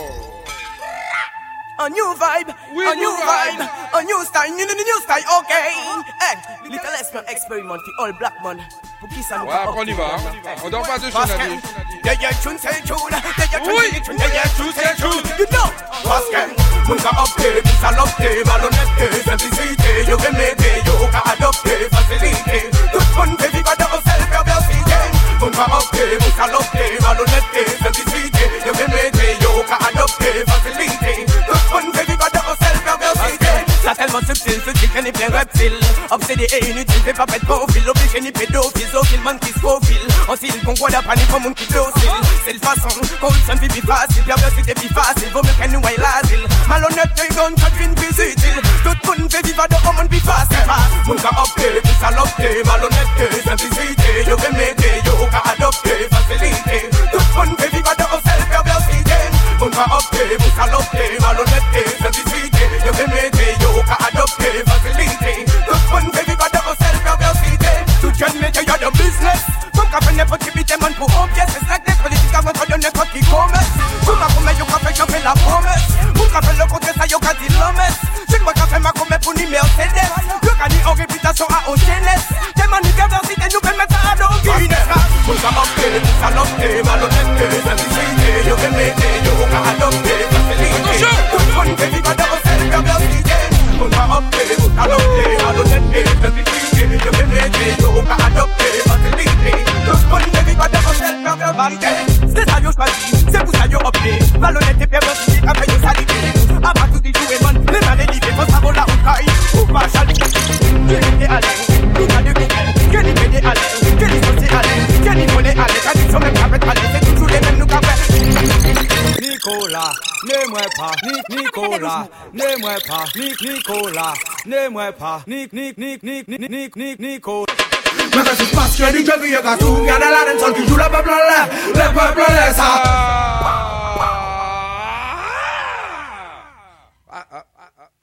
A new vibe, oui, a new vibe. vibe, a new style, new, new, new style, okay. Hey, little experiment, experiment, for all black man. Pour qui ça nous Ouais, après on y va. On dort pas dessus, Nadir. Yeah, yeah, tune, c'est tune. Yeah, yeah, Oui. tune, yeah, yeah, tune, c'est tune. You know. Parce que mon cas opté, puis salopeté, malhonnêteté, simplicité, yo aimé, yo qu'a adopté, facilité. Tout le monde fait vivre dans cette perversité. Mon cas opté, puis salopeté, malhonnêteté, simplicité, yo aimé, yo qu'a adopté, facilité. Tout le monde fait vivre dans cette perversité. Ça tellement subtil, subtil, qu'elle est plein reptile. Obsédé et inutile, fait pas pète profil. Obligé ni pédophile, zoophile, man qui scophile. En style, concours d'apprendre pour mon qui docile. C'est le façon, corruption vie plus facile. Perversité plus facile, vaut mieux qu'elle nous aille l'asile. Malhonnêteté, gonne, quand une plus utile. Tout le monde fait vivre dans un monde plus facile. Mon cas opté, plus salopté, malhonnêteté, simplicité. Yo aimé, yo qu'a adopté, facilité. Tout le monde fait vivre dans cette perversité. Mon cas opté, plus salopté, malhonnêteté, simplicité. Yo aimé, yo qu'a adopté, facilité. Tout le monde fait vivre dans cette perversité. Tout jeune métier, y'a de business. Mon cas fait n'importe qui bite, man pour un pièce. C'est ça que les politiques avant de n'importe qui commerce. Tout ma commet, yo qu'a fait, j'en fais la promesse. Mon cas fait le contraire, ça yo qu'a dit l'hommesse. C'est quoi qu'a fait ma commet pour ni Mercedes. Le gagné en réputation à au jeunesse. Des manifestations, nous pouvons mettre ça à nos Guinness. Mon cas opté, salopté, malhonnêteté, simplicité. Yo aimé, yo qu'a adopté, facilité. Tout le monde fait vivre dans cette perversité. Mon cas opté, salopté, malhonnêteté, simplicité. Yo aimé, yo qu'a adopté, facilité. Tout le monde fait vivre dans cette perversité. C'est ça yo choisi, c'est pour ça yo opté. Malhonnêteté, perversité, après yo salité. Après tout dit jouer man, les mains délivrées, faut savoir la roucaille. Ou pas chaler, qui était à l'aise, tout a de Google. Quel est pédé à l'aise, quel est sauté à l'aise, quel est volé à l'aise, quel est sur même capet à l'aise, c'est toujours les mêmes nous capet. Nicolas, n'aime-moi pas, Nic, Nicolas, n'aime-moi pas, Nic, Nicolas, n'aime-moi pas, Nic, Nic, Nic, Nic, Nic, Nic, Nic, Nicolas. Mais ça se passe, je dis que vieux gars, tout garde la reine seule qui joue le peuple en l'air, le peuple en l'air, ça.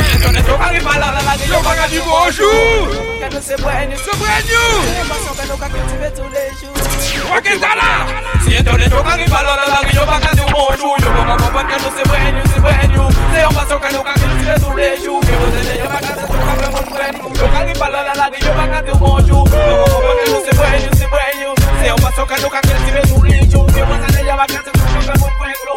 Yo baga du bonjour. C'est brand new. C'est brand new. C'est nous qui cultiver tous les jours. Ok, t'as là. Si on donne tout qui parle la langue, yo baga du bonjour. Yo baga comprendre que nous c'est brand new, c'est brand new. C'est un passant que nous qui cultiver tous les jours. Que vous êtes yo baga c'est tout vraiment brand new. Yo qui parle la langue, yo baga du bonjour. Yo baga comprendre que nous c'est brand new, c'est brand new. C'est un passant que nous qui cultiver tous les jours. Que vous êtes yo baga c'est tout vraiment brand new.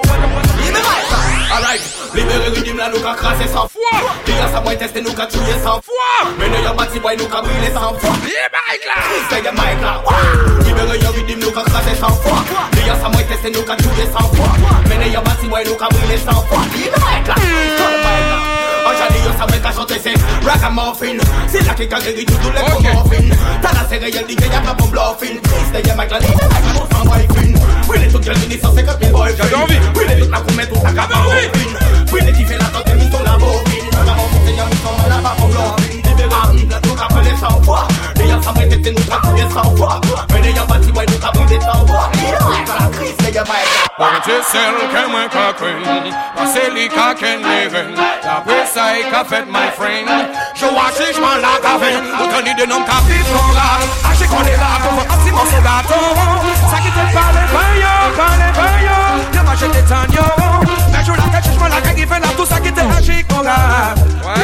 Alright, libéré rythme là, nous qu'a crassé sans foi. Dis-à ça, moi tester, nous qu'a tué sans foi. Mais nous y'a bâti, boy, nous qu'a brûlé sans foi. C'est y'a Mike là. Libéré rythme, nous qu'a crassé sans foi. Dis-à ça, moi tester, nous qu'a tué sans foi. Mais nous y'a bâti, boy, nous qu'a brûlé sans foi. C'est Mike là. Aujourd'hui, yo savait qu'à chanter, c'est ragamuffin. C'est là qui qu'a guéri tout les commorphines. T'as la série, y'a dit qu'il y a pas bon bluffing. C'est y'a Mike là, c'est Mike là, nous sans boyfriend. Oui, les trucs, y'a dit cent cinquante mille boyfriend. J'avais envie. Oui, les trucs, là, qu'on met tout à cabane. Oui, les qui fait la tente, nous sont la bobine. Nous avons monté, y'a nous sommes là, pas pour bluffing. Libéré, nous qu'a brûlé sans foi. Les y'a savait que nous qu'a brûlé sans foi. Mais les y'a bâti, ouais, nous qu'a brûlé sans foi. La crise, c'est y'a Mike là. When you sell, come and cock in. Marceli cock and living. La presa y café, my friend. Je watch this man like a vein. Autant de nom café, son gars. Achei qu'on est là, comme un petit morceau gâteau. Ça qui te parle, bayo, parle, bayo. Y'a pas jeté tant, yo. Mais je la cache, je m'en la cache, qui fait là, tout ça qui te achei qu'on a.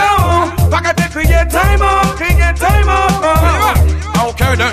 Yo, pas qu'à te crier, time up, crier, time up. Ok, then.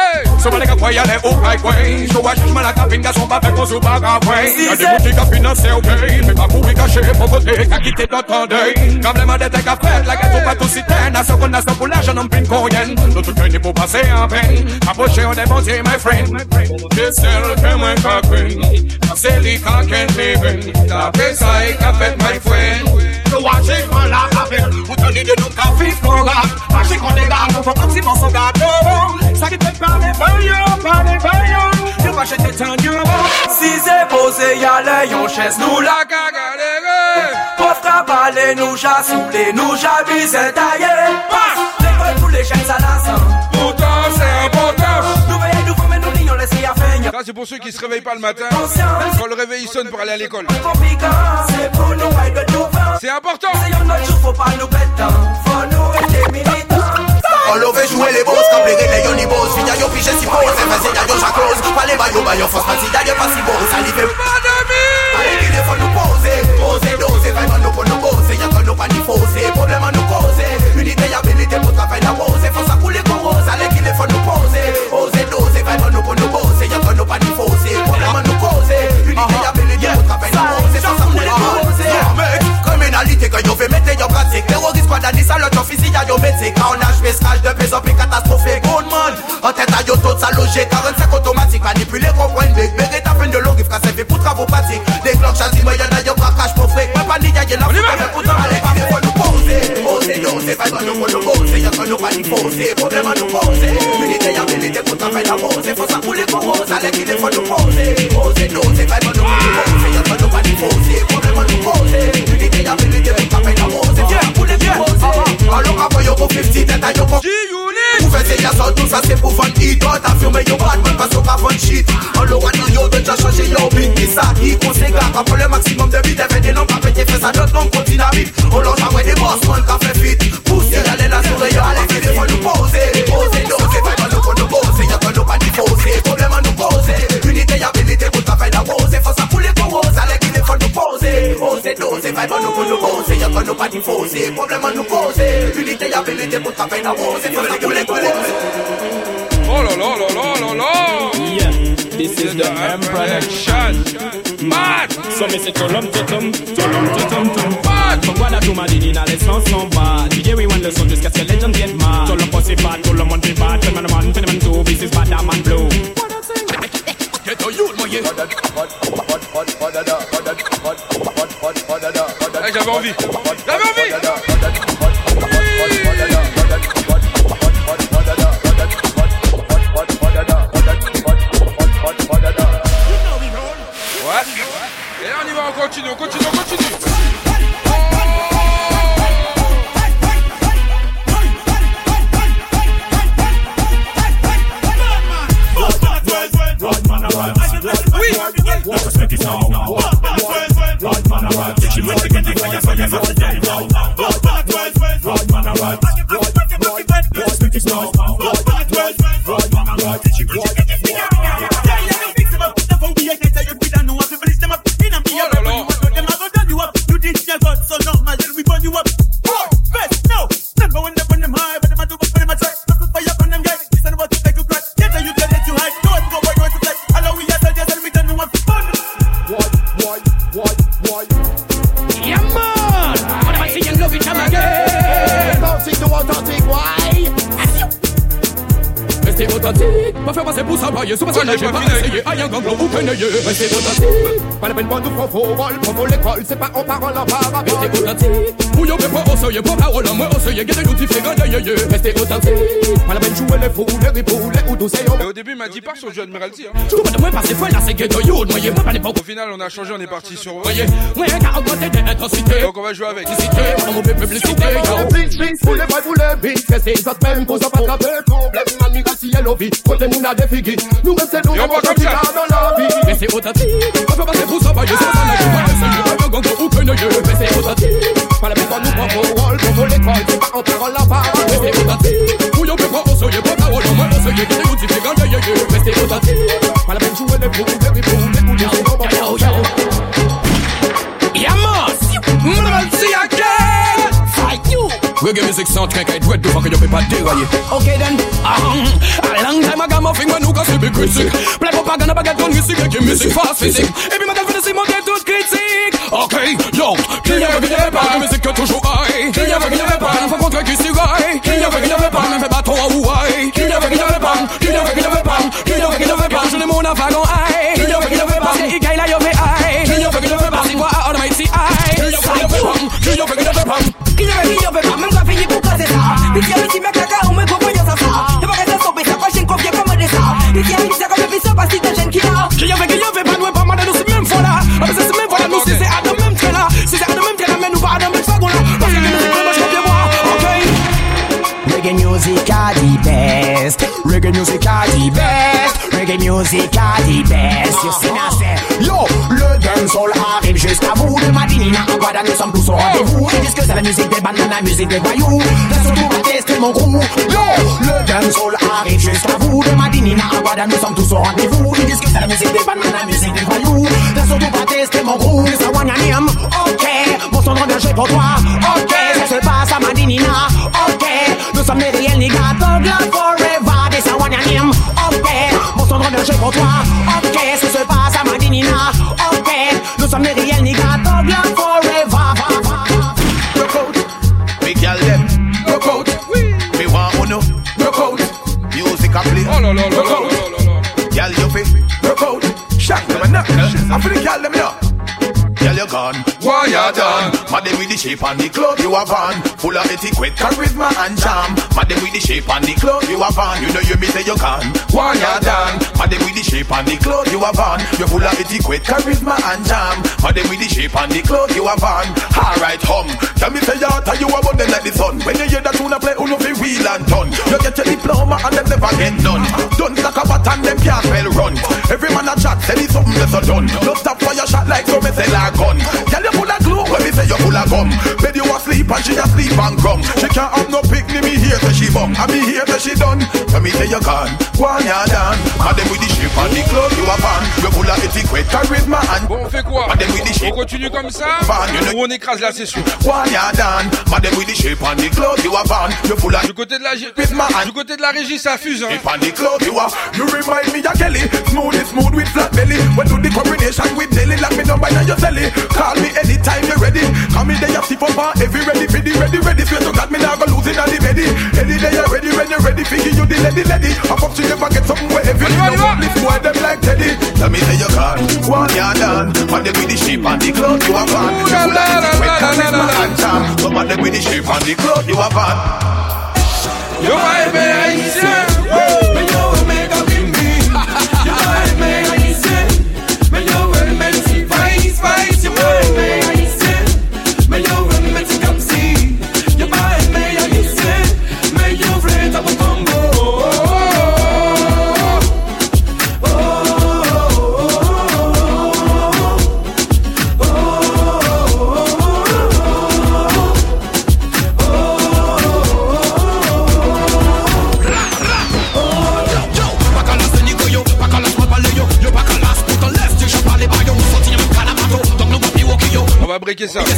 So when I can play, I let all right way. So I just man like a finger, so my people so bad away. I did pick up in a cell day. Me back we can share for côté, I get it all day. Quand les mains d'été café, like I took to sit down. I saw qu'on a stop la jeune en pin coyen. Tout tout qu'un pour passer en pain. Approcher on démonter my friend. This cell come and cockring. C'est les cock and living. La pesa et café, my friend. So watch it man like a vein. Vous tenez de nos cafés, qu'on a. Marchez qu'on est là, qu'on fait un petit morceau gâteau. Ça qui te parle, bayo, parle, bayo. Tu vas jeter tant de si c'est posé, y'a les yon chaise, nous la cagaléré. Pauvre cabalé, nous j'a soulé, nous j'a visé taillé. L'école pour les chaînes à la sang. Pourtant, c'est important. Nous veillons, nous formons, nous lions, laissez à faire. Ça, c'est pour ceux qui se réveillent pas le matin. Quand le réveil sonne pour aller à l'école. C'est pour nous, c'est important. C'est un autre jour, faut pas nous péter. Faut nous être militants. On l'avait joué les boss, quand les les yoni boss. Fille yo pige si pose, c'est y'a yo jacose. Pas les bayo bayo, force pas si y'a pas si beau. Ça l'y fait pas d'amis. Allez, il faut nous poser, poser, doser. Vraiment nous pour nous poser, y'a que nous pas ni fausser. Problème à nous causer. Unité, habilité pour travailler la rose. Faut ça couler qu'on rose. Allez, il faut nous poser, oser, doser. Vraiment nous pour nous poser, y'a que nous pas ni fausser. Problème à nous causer. Unité, habilité pour travailler la rose. Faut ça couler qu'on rose. Criminalité que yo fait mettre yo pratique. Terroriste pas d'année, salope, officier, y'a yo métier. Quand on a joué de plus en plus catastrophique. Good man, en tête à yo tout ça logé. quarante-cinq automatique, manipuler, comprendre, big, big, et t'as fait de ça qui conséquent. Après le maximum de vite, fait des noms, pas pété, fait ça d'autres noms, continue à vivre. On lance à des boss, man, qu'a fait fit. Poussez, allez la souris, allez, il faut nous poser. Poser, doser, pas de nous pour nous poser. Y'a pas de nous pas d'y problème à nous poser. Unité, habilité, pour ta faille d'arroser. Faut ça couler pour rose, allez, il faut nous poser. Oser, doser, pas de nous pour nous poser. Y'a pas de nous pas d'y problème à nous poser. Unité, habilité, pour ta faille d'arroser. Faut ça couler pour rose. Oh là là là là là là. Yeah, this is the M production. Mad. So me say tolom totom, tolom totom tom. Mad. From Guada to Madinina, les sons sont bad. D J we want the son jusqu'à ce que les gens get mad. Tolom posse bad, tolom on be bad. Ten man one, ten man two, this is bad, that man blue. Get a youth, my yeah. Hey, j'avais envie. J'avais envie. Ouais. Et là on y va, on continue, on continue, on continue. Pas la peine pour nous faire faux rôle, pour l'école, c'est pas en parole en parole. Restez authentique, vous y'avez pas osé, pas parole en moi osé, gardez l'outil fait gagner, restez authentique. Pas la peine jouer les fous, les ripoux, les houdous, c'est Et au début, il m'a dit pas sur Joe Admiralty. Hein. Je comprends de moi passer fois là, c'est ghetto youth, moi, pas les Au final, on a changé, on est parti sur. Voyez, ouais, car augmenter des intensités. Donc on va jouer avec. Publicité, on mauvais publicité. Please, please, vous les vrais, vous les big, c'est ces autres mêmes, cause pas attraper le problème, amiga, si elle oublie, côté nous n'a des figues, nous même c'est nous, on va comme ça dans la vie. Restez authentique, on peut passer pour ça, voyez, ça, ça, ça, pas la peine pour nous prendre au rôle, pour l'école, c'est pas en parole la parole. Restez authentique, vous y'avez pas osé, pas parole, moi osé, gardez l'outil fait gagner, restez authentique, pas la peine jouer les fous, les ripoux, les houdous, c'est bon, yo, yo. Yamos, m'le see again, fight you. Reggae music sound can't get wet, fuck you pas dérailler. Okay then, um, a long time I got my finger, nous casse big critique. Play propaganda, baguette on music, reggae music fast physique. Et puis ma gueule fait des mots tout critique. Okay, yo, qui n'y avait qui n'avait pas, la musique toujours high. Qui n'y avait qui n'avait pas, la fois contre qui s'y raille. Qui n'y avait qui n'avait pas, même fait bâton à Hawaii. Qui n'y avait qui n'avait pas, qui n'y avait qui n'avait pas, qui n'y avait qui n'avait pas, je n'ai mon avagon high. Qui n'y avait qui n'avait pas, c'est Ikaï la yové high. Qui n'y avait qui n'avait pas, c'est quoi à Almighty high. Qui n'y avait qui n'avait pas, qui n'y avait qui n'avait pas. Qui n'y avait qui n'avait pas, même quand fini pour casser ça. D'ici à l'outil mec caca, on me comprend ça ça. T'es pas qu'à stopper ça, prochaine confier comme des ça. D'ici à l'outil ça comme des ça, parce que t'es jeune qui là. Qui n'y avait qui n'avait pas, nous pas mal de nous c'est même fois là. C'est même fois là, nous c'est à de même train là. C'est à de même train là, mais nous pas à de même fagon là. Parce que nous c'est comme je comprends moi, ok. Reggae music are the best. Reggae music are the best. Reggae music are the best. You see now say, yo, le dancehall arrive jusqu'à vous. De Madinina à Guada, nous sommes tous au rendez-vous. Ils disent que c'est la musique des bananes, la musique des voyous. Laisse tout ma tester mon gros. Yo, le dancehall arrive jusqu'à vous. De Madinina à Guada, nous sommes tous au rendez-vous. Ils disent que c'est la musique des bananes, la musique des voyous. Laisse tout ma tester mon gros. Ça one name, ok. Mon son engagé pour toi, ok. Ça se passe à Madinina, ok. Nous sommes les réels niggas, Thug Life Forever. This a one name, ok. Mon son engagé pour toi, ok. Ça se passe à Madinina, ok. Nous sommes les réels niggas, Thug Life Forever. Rock out, big girl them. Rock out, me want uno. Rock out, music a play. Oh la la la rock out, girl you fi. Rock out, shock them and knock. I feel the girl them here. Girl you gone, why you done? Madam with the shape and the clothes you have on. Full of etiquette, charisma and charm. Madam with the shape and the clothes you have on. You know you me say you gone, why you done? Madam with the shape and the clothes you have on. You full of etiquette, charisma and charm. Madam with the shape and the clothes you have on. Alright hum, tell me say you tell you about them like the sun. When you hear that tune play, you know fi wheel and turn. You get your diploma and them never get done. Don't like a bat and them can't well run. Every man a chat, say it's something that's a done. No stop for like so me sell a gun. Girl, you full of glue when me say you full of gum. Bed you asleep and she asleep and gum. She can't have no picnic, me here till she bum. I be here till she done. When me say you gone, go on ya done. Madame with the shape and the clothes you are fan. You full of etiquette, charisma and. Bon, on fait quoi? Madame with the shape. On continue comme ça ou on écrase la session? Go on ya done. Madame with the shape and the clothes you are fan. You full of. Du côté de la du côté de la régie, ça fuse hein. And the clothes you are. You remind me of Kelly. Smooth is smooth with flat belly. When do the combination with Nelly? Like me number now you sell it. Call me anytime you're ready. Come in there you see for bar. Every ready, ready, ready, ready. Feel so that me now go lose it on the belly. Any day you're ready, when you're ready. Figure you the lady, lady. I pop you never get something where every day you want. This boy them like Teddy. Let me say you can't. One you're done. And them with the shape and the clothes you are van. You full of etiquette, charisma and charm. Some of them with the shape and the clothes you are van. Yo my haïtien, mais yo méga bimbi. Yo my haïtien, mais yo me si vice vice. Yo my haïtien, mais yo me si comme si. Yo my haïtien, mais yo vle ta combo. On va breaker ça.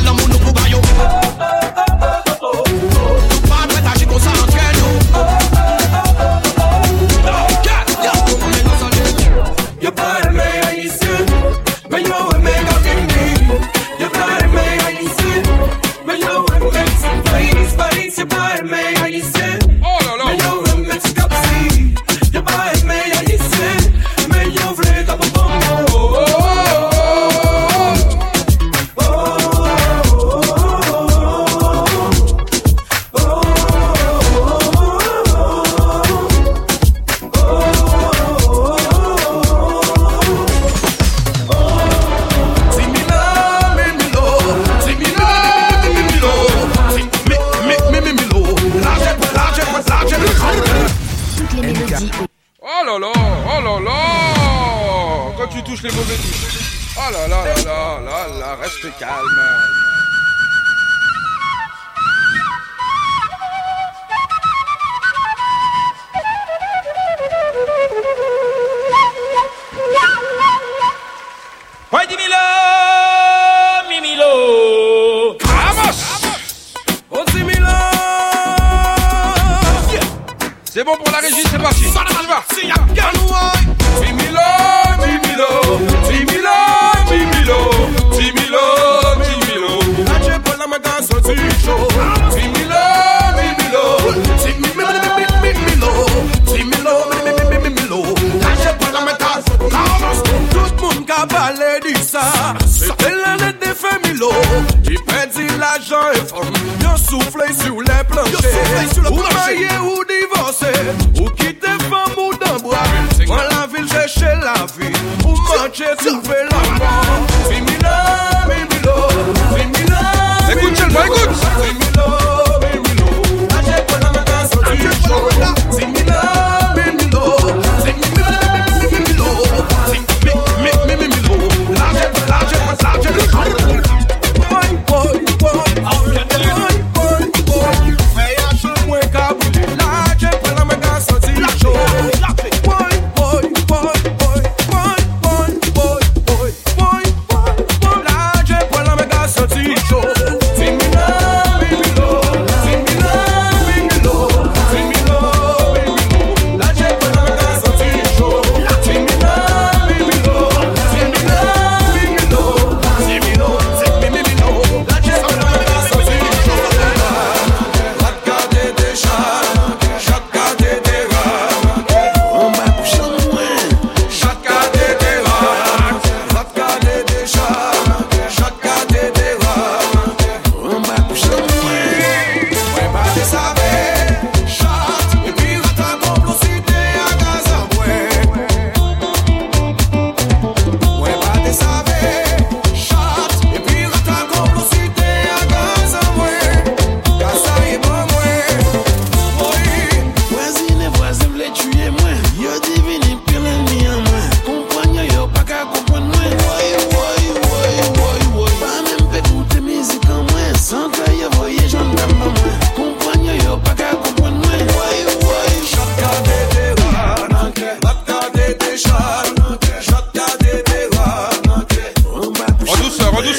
Oh là là là là là là, reste calme. Ouais, dis-milo, mimilo. Vamos. Oh, dis-milo. C'est bon pour la régie, c'est parti. On y va. Timilo, Timilo, Timilo, Timilo, Timilo, Timilo. Lache por la maganza, Timilo, Timilo, Timilo, Timilo, Timilo, Timilo. Lache por la maganza, tout le monde a parlé de ça. C'était l'année des Femilo. Qui perdit l'argent et forme. Yo soufflé sur les planchers. Ou marié ou divorcé. Ou quitter femme ou d'un bois. Dans la ville chercher la vie. Ou manger trouver la mort. Timilo, Timilo, Timilo. Écoute seulement, écoute. Timilo, Timilo. Lâchez pas la main sur du show. Timilo, Timilo, Timilo, Timilo. Timilo, lâchez pas, lâchez pas, lâchez pas. Boy, boy, boy. Boy, boy, boy. Fais un peu moins caboulé. Lâchez pas la main sur du show. Boy, boy, boy, boy, boy, boy, boy, boy, boy.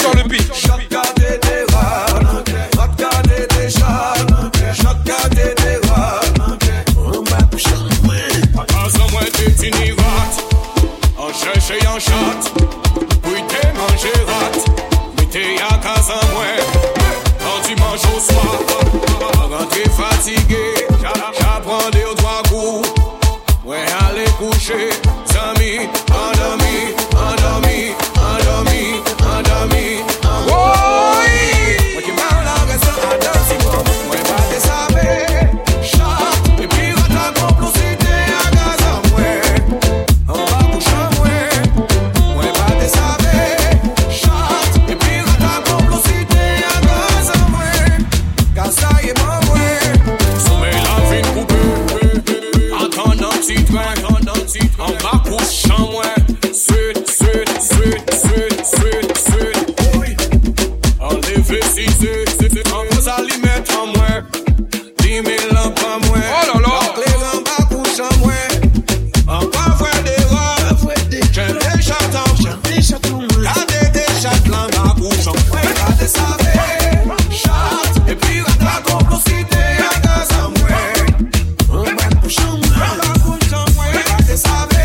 sort le beat. Regardez des rats, regardez des chats, regardez des rats. On va coucher en moi. Pas en moi t'es tini rat. En cherche et en chatte. Puis t'es mangé rat. Mais t'es à casa en moi. Quand tu manges au soir, quand t'es fatigué, j'apprends des trois coups. Ouais, allez coucher, amis, endormi, endormi, endormi, endormi. Oui! Moi qui parle en restant à deux secondes, moi pas te savoir. Chat, et puis va ta complicité à gaz en moi. On va coucher en moi, moi pas te savoir. Chat, et puis va ta complicité à gaz en moi. Car ça y est pas moi. Sommeil la vie coupée, attendant petit train. On va coucher en moi. Suite, suite, suite, suite, suite, suite. Oui. Enlevez si c'est, c'est, c'est. On vous allez mettre en moi. dix mille lampes en moi. Oh là là. Donc les lampes à coucher en moi. On va voir des robes. J'aime des chatons. J'aime des chatons. Gardez des chatons à coucher en moi. Gardez ça avec chat. Et puis la ta complicité à gaz en moi. On va coucher en moi. On va coucher en moi. Gardez ça avec.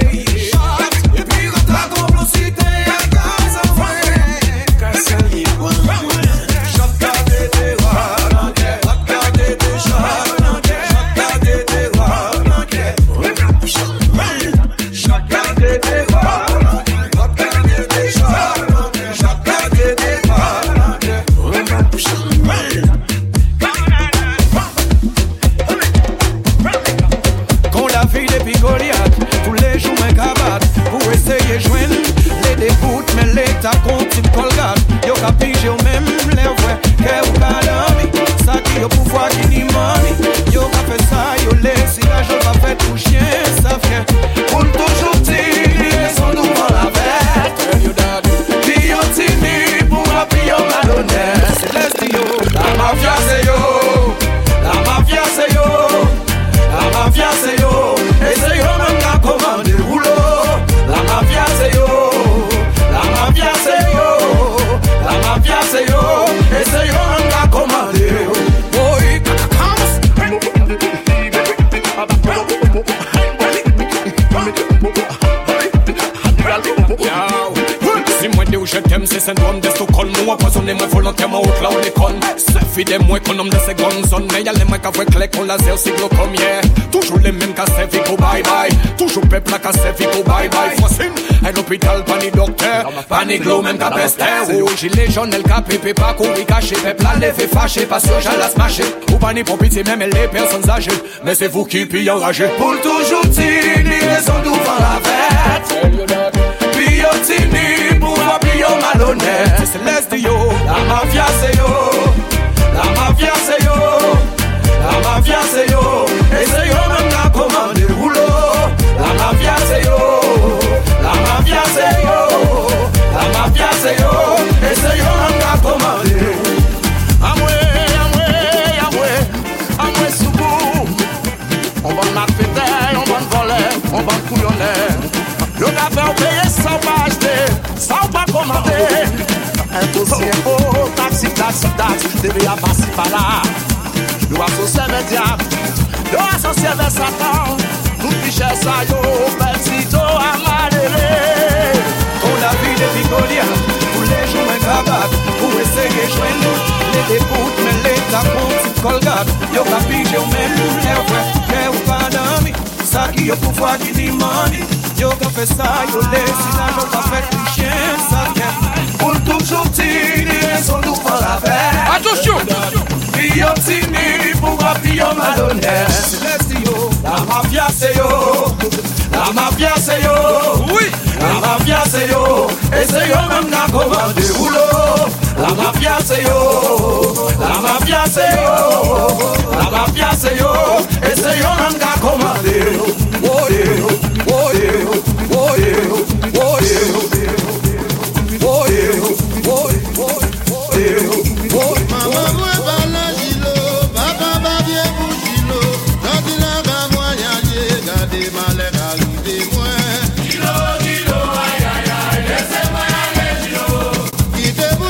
Ta continue colgate, yo capige yo même les vrais, que ou calami, ça qui yo pouvoir qui ni money, yo ka fait ça, yo laisse la joie pas fait tout chien, ça fait, pour toujours tirer son devant la bête, puis yo tini, pour appuyer yo malhonnête, c'est l'estio, la mafia c'est yo, la mafia c'est yo, la mafia c'est yo, et c'est yo même qui a commandé le boulot, la mafia c'est yo. La mafia c'est yo, la mafia c'est yo, et c'est yo même qui a commandé. Oui, si moi dis où je t'aime, c'est syndrome de Stockholm. Moi poisonner moi volontairement au cloud les connes. C'est fidèle moi économe de secondes zone. Mais y'a les mecs qui font clé qu'on laser cyclocom, yeah. Toujours les mêmes qu'à Sevico, bye bye. Toujours peuple qu'à Sevico, bye bye. Fossin, à l'hôpital, pas ni docteur. Pas ni glow, même qu'à pester. Oh, gilet jaune, elle qu'a pépé, pas courir caché. Peuple à lever fâché, parce que j'allais se mâcher. Ou pas ni pour pitié, même les personnes âgées. Mais c'est vous qui pillez enragé. Pour toujours tini, raison d'ouvrir la fête. Tini, pour appuyer yo malhonnête, c'est l'estio, la mafia c'est yo, la mafia c'est yo, la mafia c'est yo, et c'est yo même qui a commandé le boulot, la mafia c'est yo, la mafia c'est yo, la mafia c'est yo, et c'est yo même qui a commandé. Amoué, amoué, amoué, amoué soubou, on va m'affêter, on va voler, on va couillonner. Le gars fait payer sans pas acheter, sans pas commander. Un dossier beau, taxi, taxi, taxi, je devais passer par là. Nous associés avec diable, nous associés avec Satan. Tout piché ça yo, petit à maléré. On a vu des picolias, tous les jours un cabane. Pour essayer de joindre les déboutes, mais les tapons, tu colgate. Yo capige, yo même, les vrais, que ou pas d'amis. Ça qui yo pouvoir qui dit money. Yo ka fait ça, yo laisse la joie pas fait tout chien, ça vient. Pour toujours tirer son loup par la veille. Attention! Yo tini, pour appuyer yo malhonnête. C'est l'estio, la mafia c'est yo, la mafia c'est yo. Oui! La mafia c'est yo, et c'est yo même qui a commandé le boulot. La mafia c'est yo, la mafia c'est yo, la mafia c'est yo, et c'est yo même qui a commandé. Oh yeah, oh yeah, oh yeah, oh yeah, oh yeah, oh yeah, oh yeah. Maman moi va la gilo, papa va bien pour gilo. Quand il a va voyager, gardez malheur arrivé moi. Gilo, gilo, aïe aïe aïe, laissez-moi aller gilo. Quittez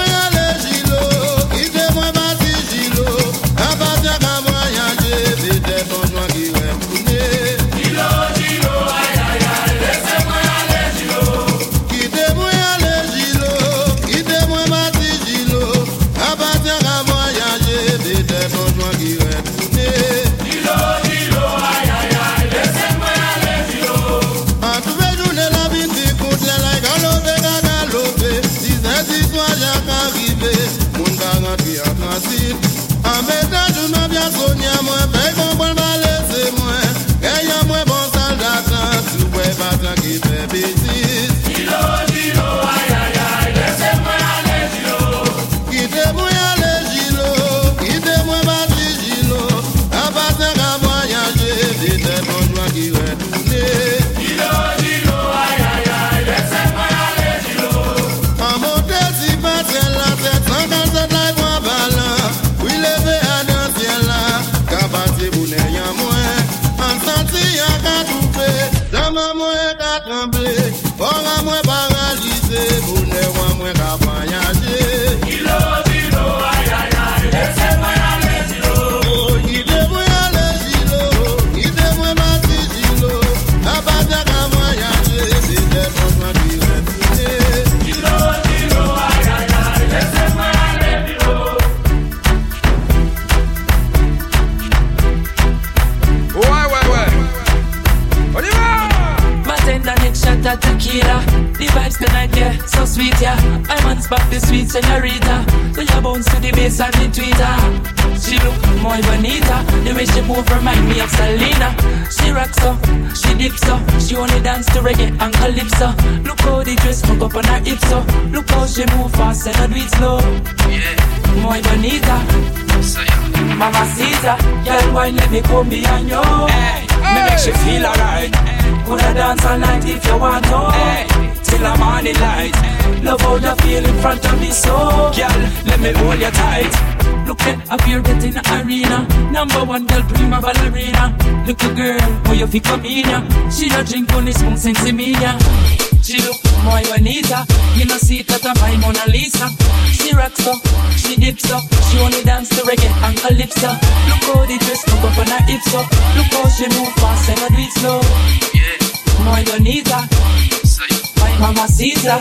Rita. I man spot the sweet señorita. So you bounce to the bass and the tweeter. She look more bonita. The way she move remind me of Selena. She rocks up, she dips up. She only dance to reggae and calypso. Look how the dress hook up on her hips up. Look how she move fast and not do it slow. Yeah, more bonita. Mamacita, girl, wine let me come behind you. Hey, me make she feel alright. Coulda dance all night if you want to. Hey, till the morning light. Love how you feel in front of me, so girl, let me hold you tight. Look at up here get in the arena. Number one girl, prima ballerina. Little girl, how you feel come in ya? She a drink on this spoon since me ya. She look more bonita. You know see that I'm my Mona Lisa. She rocks up, she dips up. She only dance to reggae and calypso. Look how the dress hook up on her hips up. Look how she move fast and not do it slow. Yeah, more bonita. My mamacita.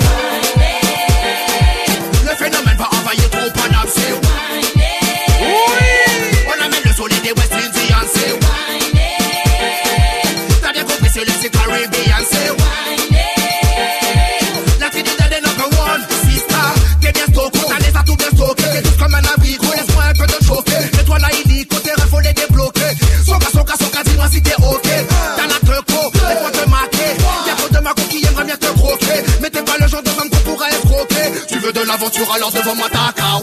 Le phénomène va envahir ton paname, c'est oui. On amène le soleil des West Indians, c'est oui. T'as bien compris, c'est le Caribbean, c'est oui. La trinité des number one, sister. T'es bien stocké, t'as les atouts bien stockés. T'es tous comme un abrigo, laisse-moi un peu te chauffer. Mets-toi là, illico, tes rêves, faut les débloquer. Soca, soca, soca, dis-moi si t'es ok. T'as la teco, laisse-moi te marquer. Y'a pas de maco qui aimerait bien te croquer. Mais t'es pas le genre de femme qu'on pourrait escroquer. Tu veux de l'aventure, alors devant moi t'as qu'à.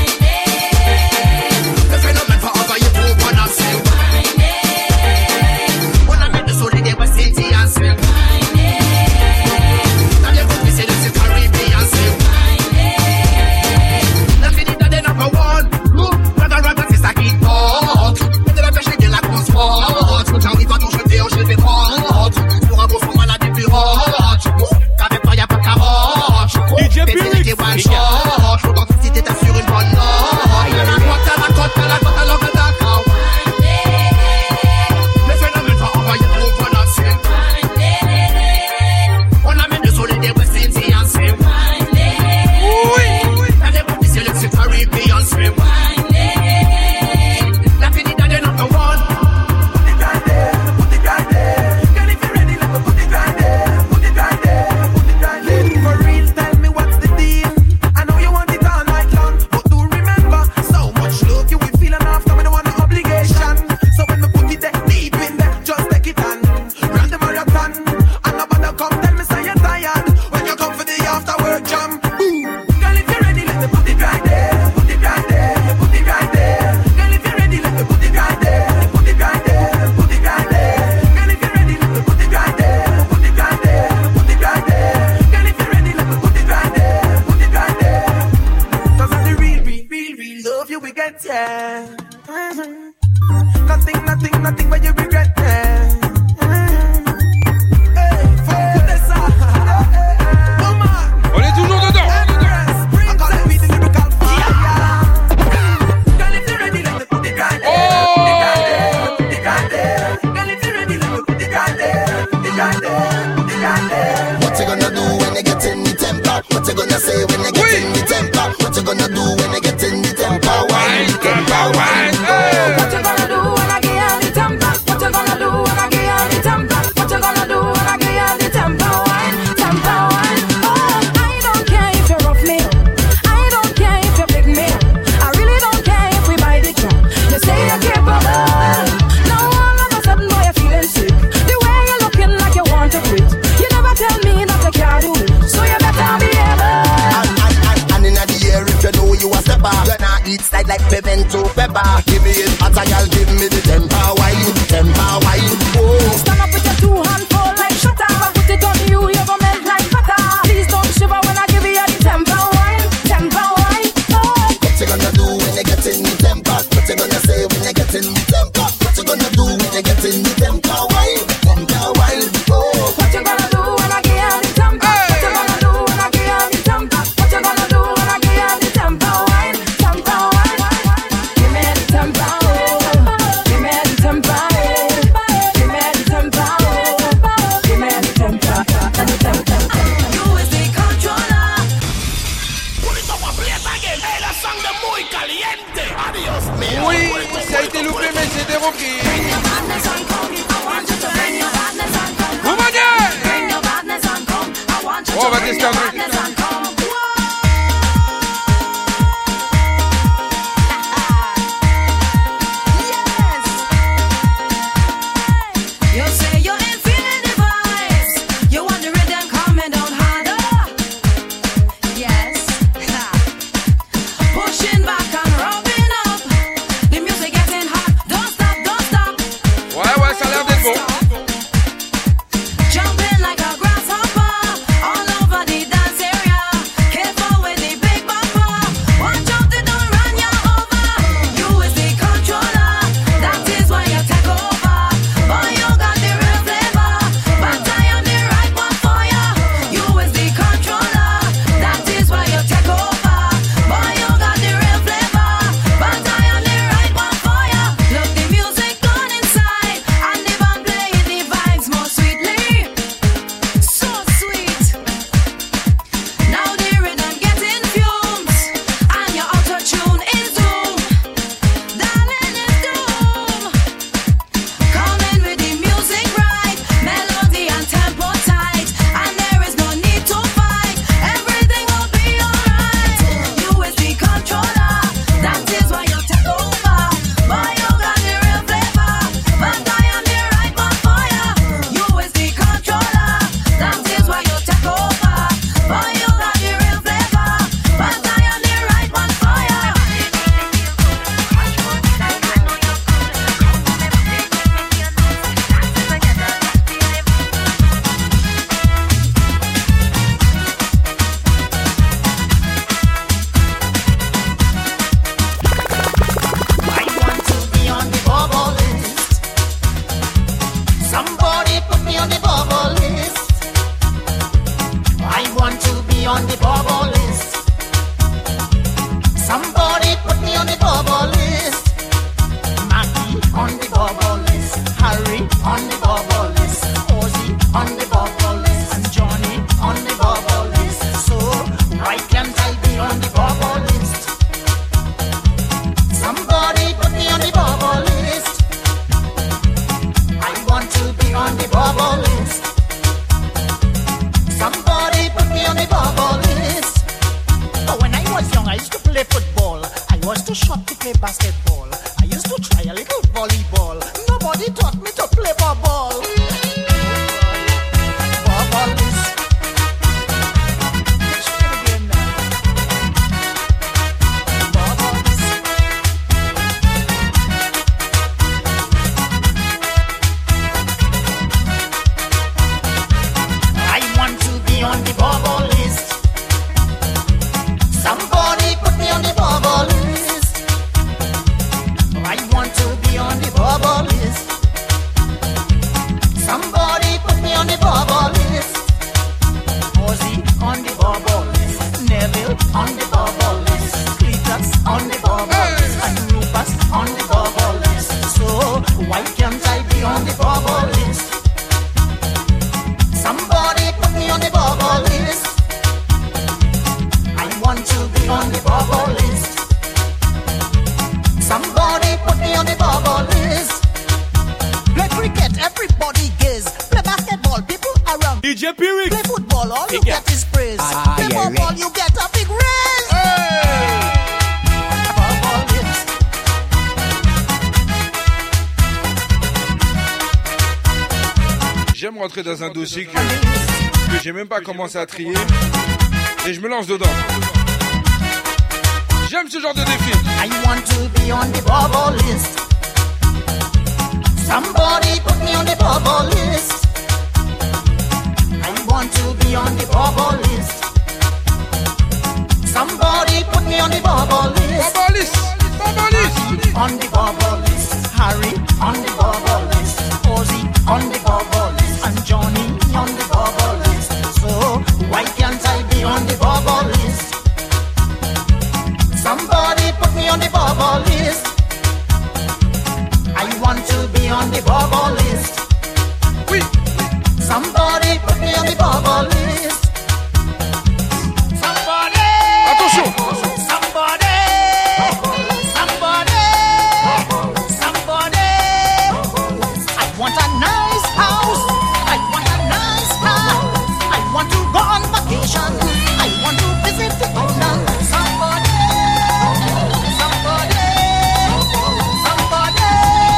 Le phénomène va envahir ton paname, c'est oui. On amène le soleil des West Indians, c'est oui. T'as bien compris, c'est le Caribbean, c'est oui. La finita des number one. Rada, rada, c'est ça qui porte. De la pêche et de la grosse porte. Quand j'arrive à ton jeté, je vais prendre. Pour un beau fond malade et plus hot. Qu'avec toi y'a pas de carotte. D J Pyrrhix, one shot. Faut dans si t'es sur une bonne note. Moi t'as la cote, t'as la cote, alors que d'accord. Le phénomène va envahir ton paname, c'est oui. On amène le soleil des West Indians, c'est oui. La démocratie, c'est le Caribbean, c'est oui. La finita des number one. Put it right there, put it right there. Girl, if you're ready, let me put it right there. Put it right there, put it right there. For real, tell me what's the deal. I know you want it all night long, but do remember, so much love you will feel enough. Come and want no obligation. So when me put it there, deep in there, just take it on. Run the marathon, and nobody come tell me say you're tired. When you come for the after work jam. Girl, if you're ready, let me put it right there. Put it right there, put it right there. Girl, if you're ready, let me put it right there. Put it right there, put it right there. Girl, if you're ready, let me put it right there. Put it right there, put it right there. Girl, if you're ready, let me put it right there. Put it right there. Cause I'm the real, real, real, real love you will get, yeah. Mhm. Nothing, nothing, nothing but you regret, yeah. Mhm. Hey, fuck this up. Come on. On est toujours dedans. I call it with the lyrical fire. Girl, if you're ready, let me put it right there. Put it right there, put it right there. Girl, if you're ready, let me put it right there. Put it right there, put it right there. What you gonna do when you get in the temper? What you gonna say when you get in the temper? What you gonna do when you get in the temper? Wine, temper, wine. What you gonna do when I get on the temper? What you gonna do when I get on the temper? What you gonna do when I get on the temper? Wine, temper, wine. Oh, I don't care if you rough me up. I don't care if you pick me up. I really don't care if we buy the truck. You say you're capable. Now all of a sudden, boy, you're feeling sick. The way you're looking like you want to quit. You never tell me that you can't do it. So you better be able. And, and, and, and in the air, if you know you a stepper, you not eat side like pimento pepper. Give me it, hot girl, give me the temper wine, temper wine. Oh. Stand up with your two hands full like shutter. Put it on you, you're gonna melt like butter. Please don't shiver when I give you the temper wine, temper wine. Oh. What you gonna do when you get in the temper? What you gonna say when you get in the temper? What you gonna do when you get in the temper wine, temper wine. Oh. What you gonna do when I get on the temper? What you gonna do when I get on the temper? What you gonna do when I get on the temper wine, temper wine? Give me the temper, give me the temper, give me the temper, give me the temper, the temper. You is the controller. Put it up a plate again. Hey, la sangre muy caliente. Adiós, mío. Oui, ça a été loupé, mais c'était repris. Vous m'en dites. Oh, on va tester un truc. be on the bubble list. Somebody put me on the bubble list. I want to be on the bubble list. Somebody put me on the bubble list. Oh, when I was young, I used to play football. I was too short to play basketball. I used to try a little volleyball. Nobody taught me to play for ball. Bubble list. On the bubble list. Somebody put me on the bubble list. I want to be on the bubble list. Somebody put me on the bubble list. Ozzy on the bubble list. Neville on the bubble list. Cletus on the bubble list. And Rufus on the bubble list. So why can't I be on the bubble list? Somebody put me on the bubble list. I want to be on the bubble list. Somebody put me on the bubble list. Play cricket, everybody gaze. Play basketball, people around. D J Pyrex. Play football, all you get is praise. Ah, Play yeah, football, right. you get a big raise. Hey. Bubble list. J'aime rentrer dans un dossier que, que j'ai même pas commencé à trier et je me lance dedans. J'aime ce genre de défi. I want to be on the bubble list. Somebody put me on the bubble list. I want to be on the bubble list. Somebody put me on the bubble list. Bubble list. Bubble list. On the bubble list. Harry on the bubble list. Ozzy on the bubble list. And Johnny on the bubble list. So why can't I be on the bubble list? Somebody put me on the bubble list. I want to be on the bubble list. Oui. Somebody put me on the bubble list. Somebody. Attention. Somebody. Somebody. Somebody. I want a nice house. I want a nice car. I want to go on vacation. I want to visit the island. Somebody. Somebody. Somebody.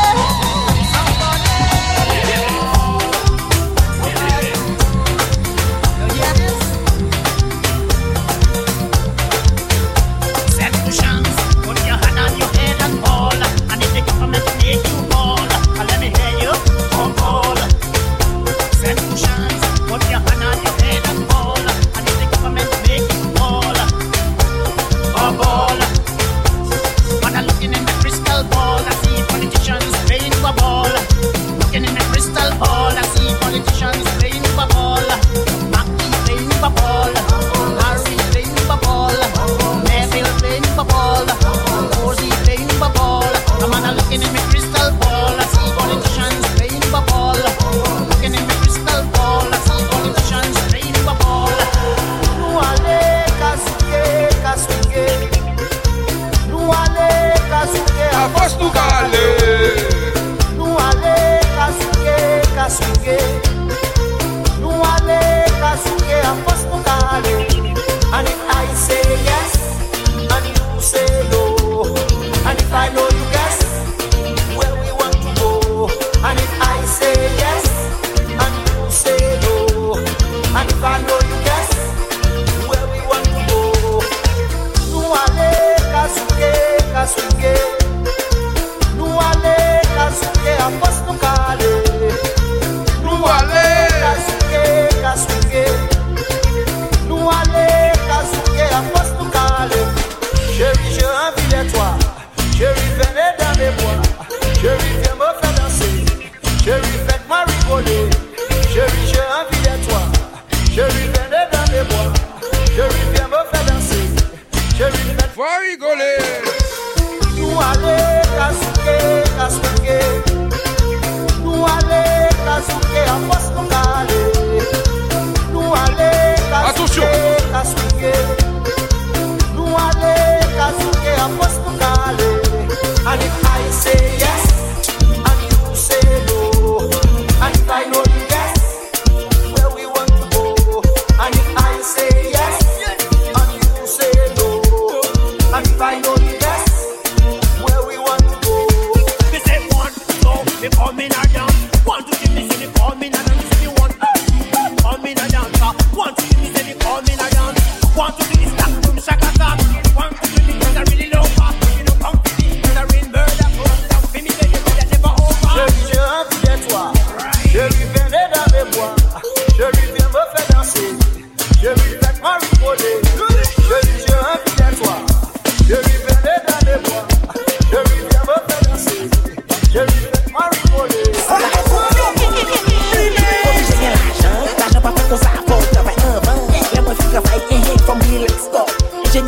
Set cushions, put your hand on your head and ball. And if the government make you ball, let me hear you, oh ball. Set cushions, put your hand on your head and ball. And if the government make you ball, oh ball. When I'm looking in the crystal ball, I see politicians playing for ball. Looking in the crystal ball, I see politicians playing for ball. Mackie playing for ball. Harry playing for ball. Neville playing for ball. Ozzy playing for ball. I'm not looking in my crystal ball, I see politicians playing for ball. Looking in my crystal ball, I see politicians playing for ball. Nuale kasuke kasuke. Nuale kasuke Avance nous gale. Nuale kasuke kasuke. Nuale kasuke avance nous gale. And if I say yes, and you say no, and if I know you guess where we want to go, and if I say yes, and you say no, and if I know you guess where we want to go, Nuale kasuke kasuke. Nuale kasuke avance nous gale. Nuale kasuke kasuke. Nuale kasuke avance nous gale. Chérie, j'ai envie de toi. Chérie, venez dans mes bras. Chérie, viens me faire danser. Chérie, faites-moi rigoler. Chérie, j'ai envie de toi. Chérie, venez dans mes bras. Chérie, viens me faire danser. Chérie, faites-moi rigoler. Nuale kasuke kasuke. Nuale kasuke avance nous gale. Nuale kasuke kasuke.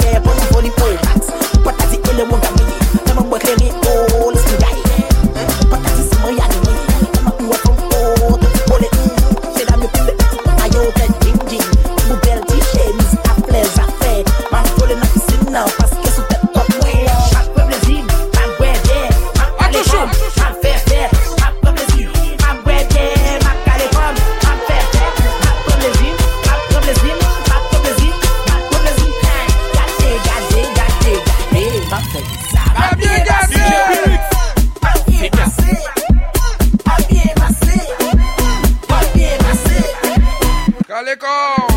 yeah, put for the pole tax. What does it kill one me? Never work any all this guy. What does it my yard me? Never do it from all the pole. Say that me put it. I yo get ding ding. Who belt t-shirt, Mister Flares affair. Man pulling up the sin now, parce que sous tête top way. Pas de plaisir, pas de ouais there. Attention, pas de faire faire. Pas de plaisir, pas de ouais there. Pas de caler comme, pas de faire faire. Pas de plaisir, pas de plaisir, pas de plaisir, pas de plaisir. Gâté, gâté, gâté, gâté. Pas fait ça. Pas bien gâté. Pas bien passé. Pas bien passé. Pas bien passé. Caleco.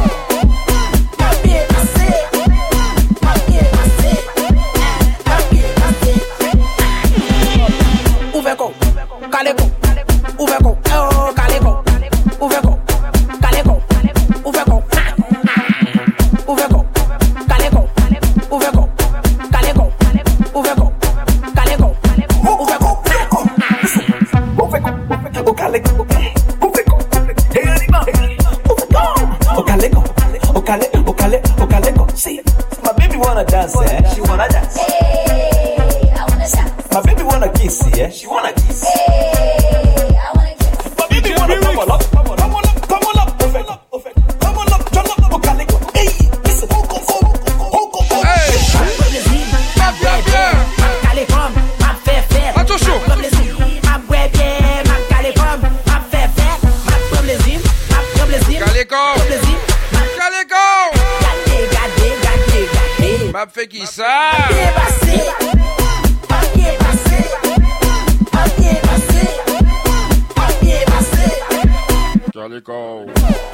Uveko, Caleco, Uveko, oh Caleco, Uveko, Caleco, Uveko, Uveko, Caleco, Uveko, Caleco, Uveko, Caleco, Uveko, Uveko, oh Caleco, Uveko, hey anima, Uveko, oh Caleco, oh Cale, oh Cale, oh Caleco. See, my baby wanna dance, eh? She wanna dance. My baby wanna kiss, yeah? She wanna kiss. Hey, I wanna kiss. My baby wanna come on up, come on up, come on up, come on up, perfect, perfect. Come on up, jump up, okay, let's go. Hey, listen, ho, ho, ho, ho, ho, ho. Hey, ma bien, bien. Ma calécom, ma fait faire. Attention. Ma plaisir, ma ouais bien, ma calécom, ma fait faire. Ma plaisir, ma plaisir. Calécom. Plaisir. Calécom. Gardez, gardez, gardez, gardez. Ma fait qui ça? Bien passé. Calico.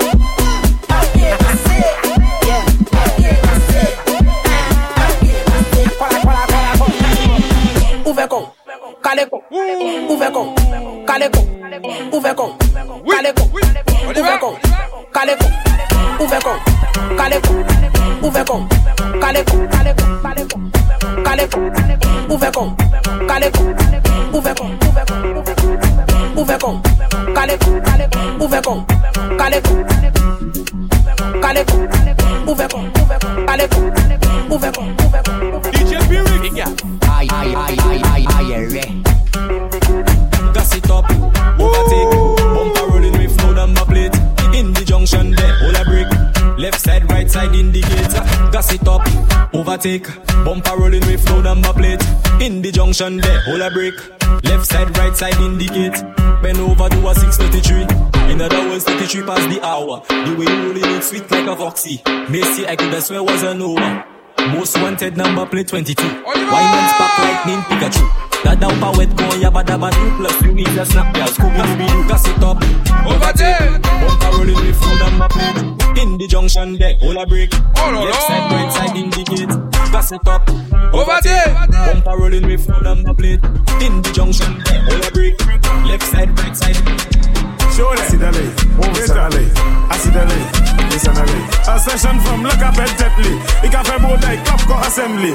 Uveko, Caleco, Uveko, Caleco, Uveko, Caleco, Uveko, Caleco, Uveko, Caleco, Uveko, Caleco, Caleco, Caleco, Uveko, Caleco, Uveko, Uveko, Caleco, Uveko, Caleco, Caleco, Uveko, Caleco, Uveko, Uveko. D J Pyrrhic. Aye, aye, aye, aye, aye, aye, Gas it up, overtake, bumper rolling with no number plate. In the junction there, hold a brake. Left side, right side indicator. Gas it up, overtake, bumper rolling with no number plate. In the junction there, hold a brake. Left side, right side indicate. Bend over to a six thirty-three. In other words, thirty-three past the hour. The way you rolling it sweet like a foxy. Macy, I could have swear was an over. Most wanted number plate twenty-two. Why man spark lightning Pikachu? That down power wet go yabba dabba do. Plus you need a snap girl. Scooby Dooby Doo. Gas it up. Over there. Bumper rolling with full number plate. In the junction there, hold a brake. Left side, right side indicate. Gas it up. Over there. Bumper rolling with full number plate. In the junction there, hold a brake. Left side, right side. Show them. Acidale, Acidale, Acidale, Acidale. A session from Lacapelle Tetley. Ik a fait beau day, Copco Assembly.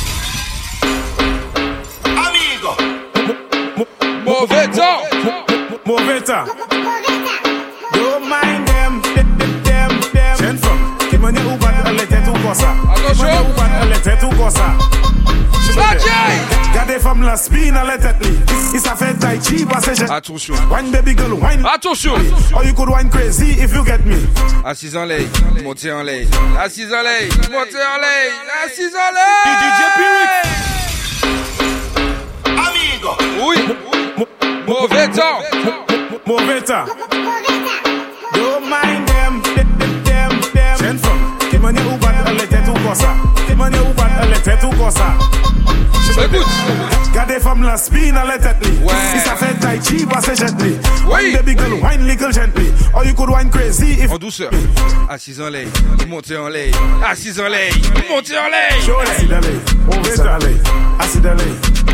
Amigo. Mauvais temps. Mauvais temps. Don't mind them, them, them, them. Jeune femme, qui m'a dit où va elle était tout comme ça. Attention. Où va elle était tout comme ça. Gardez femme la spin à la tête. Il s'est fait tai chi parce que j'ai. Attention. Wine baby girl, wine. Attention. Or you could wine crazy if you get me. Assise en l'air, montez en l'air. Assise en l'air, montez en l'air. Assise en l'air. D J Pyrrhic. Amigo. Oui. Mauvais temps. Mauvais temps. Don't mind them, them, them, them. Jeune femme, qui m'a dit où va elle était tout comme ça. Qui m'a dit où va elle était tout comme ça. Écoute. Gardez femme la spin à la tête. Il s'est fait tai chi parce que gently. Wine baby girl, wine little gently. Or you could wine crazy if. En douceur. Assise en l'air, montez en l'air. Assise en l'air, montez en l'air. Acidale, Acidale, Acidale.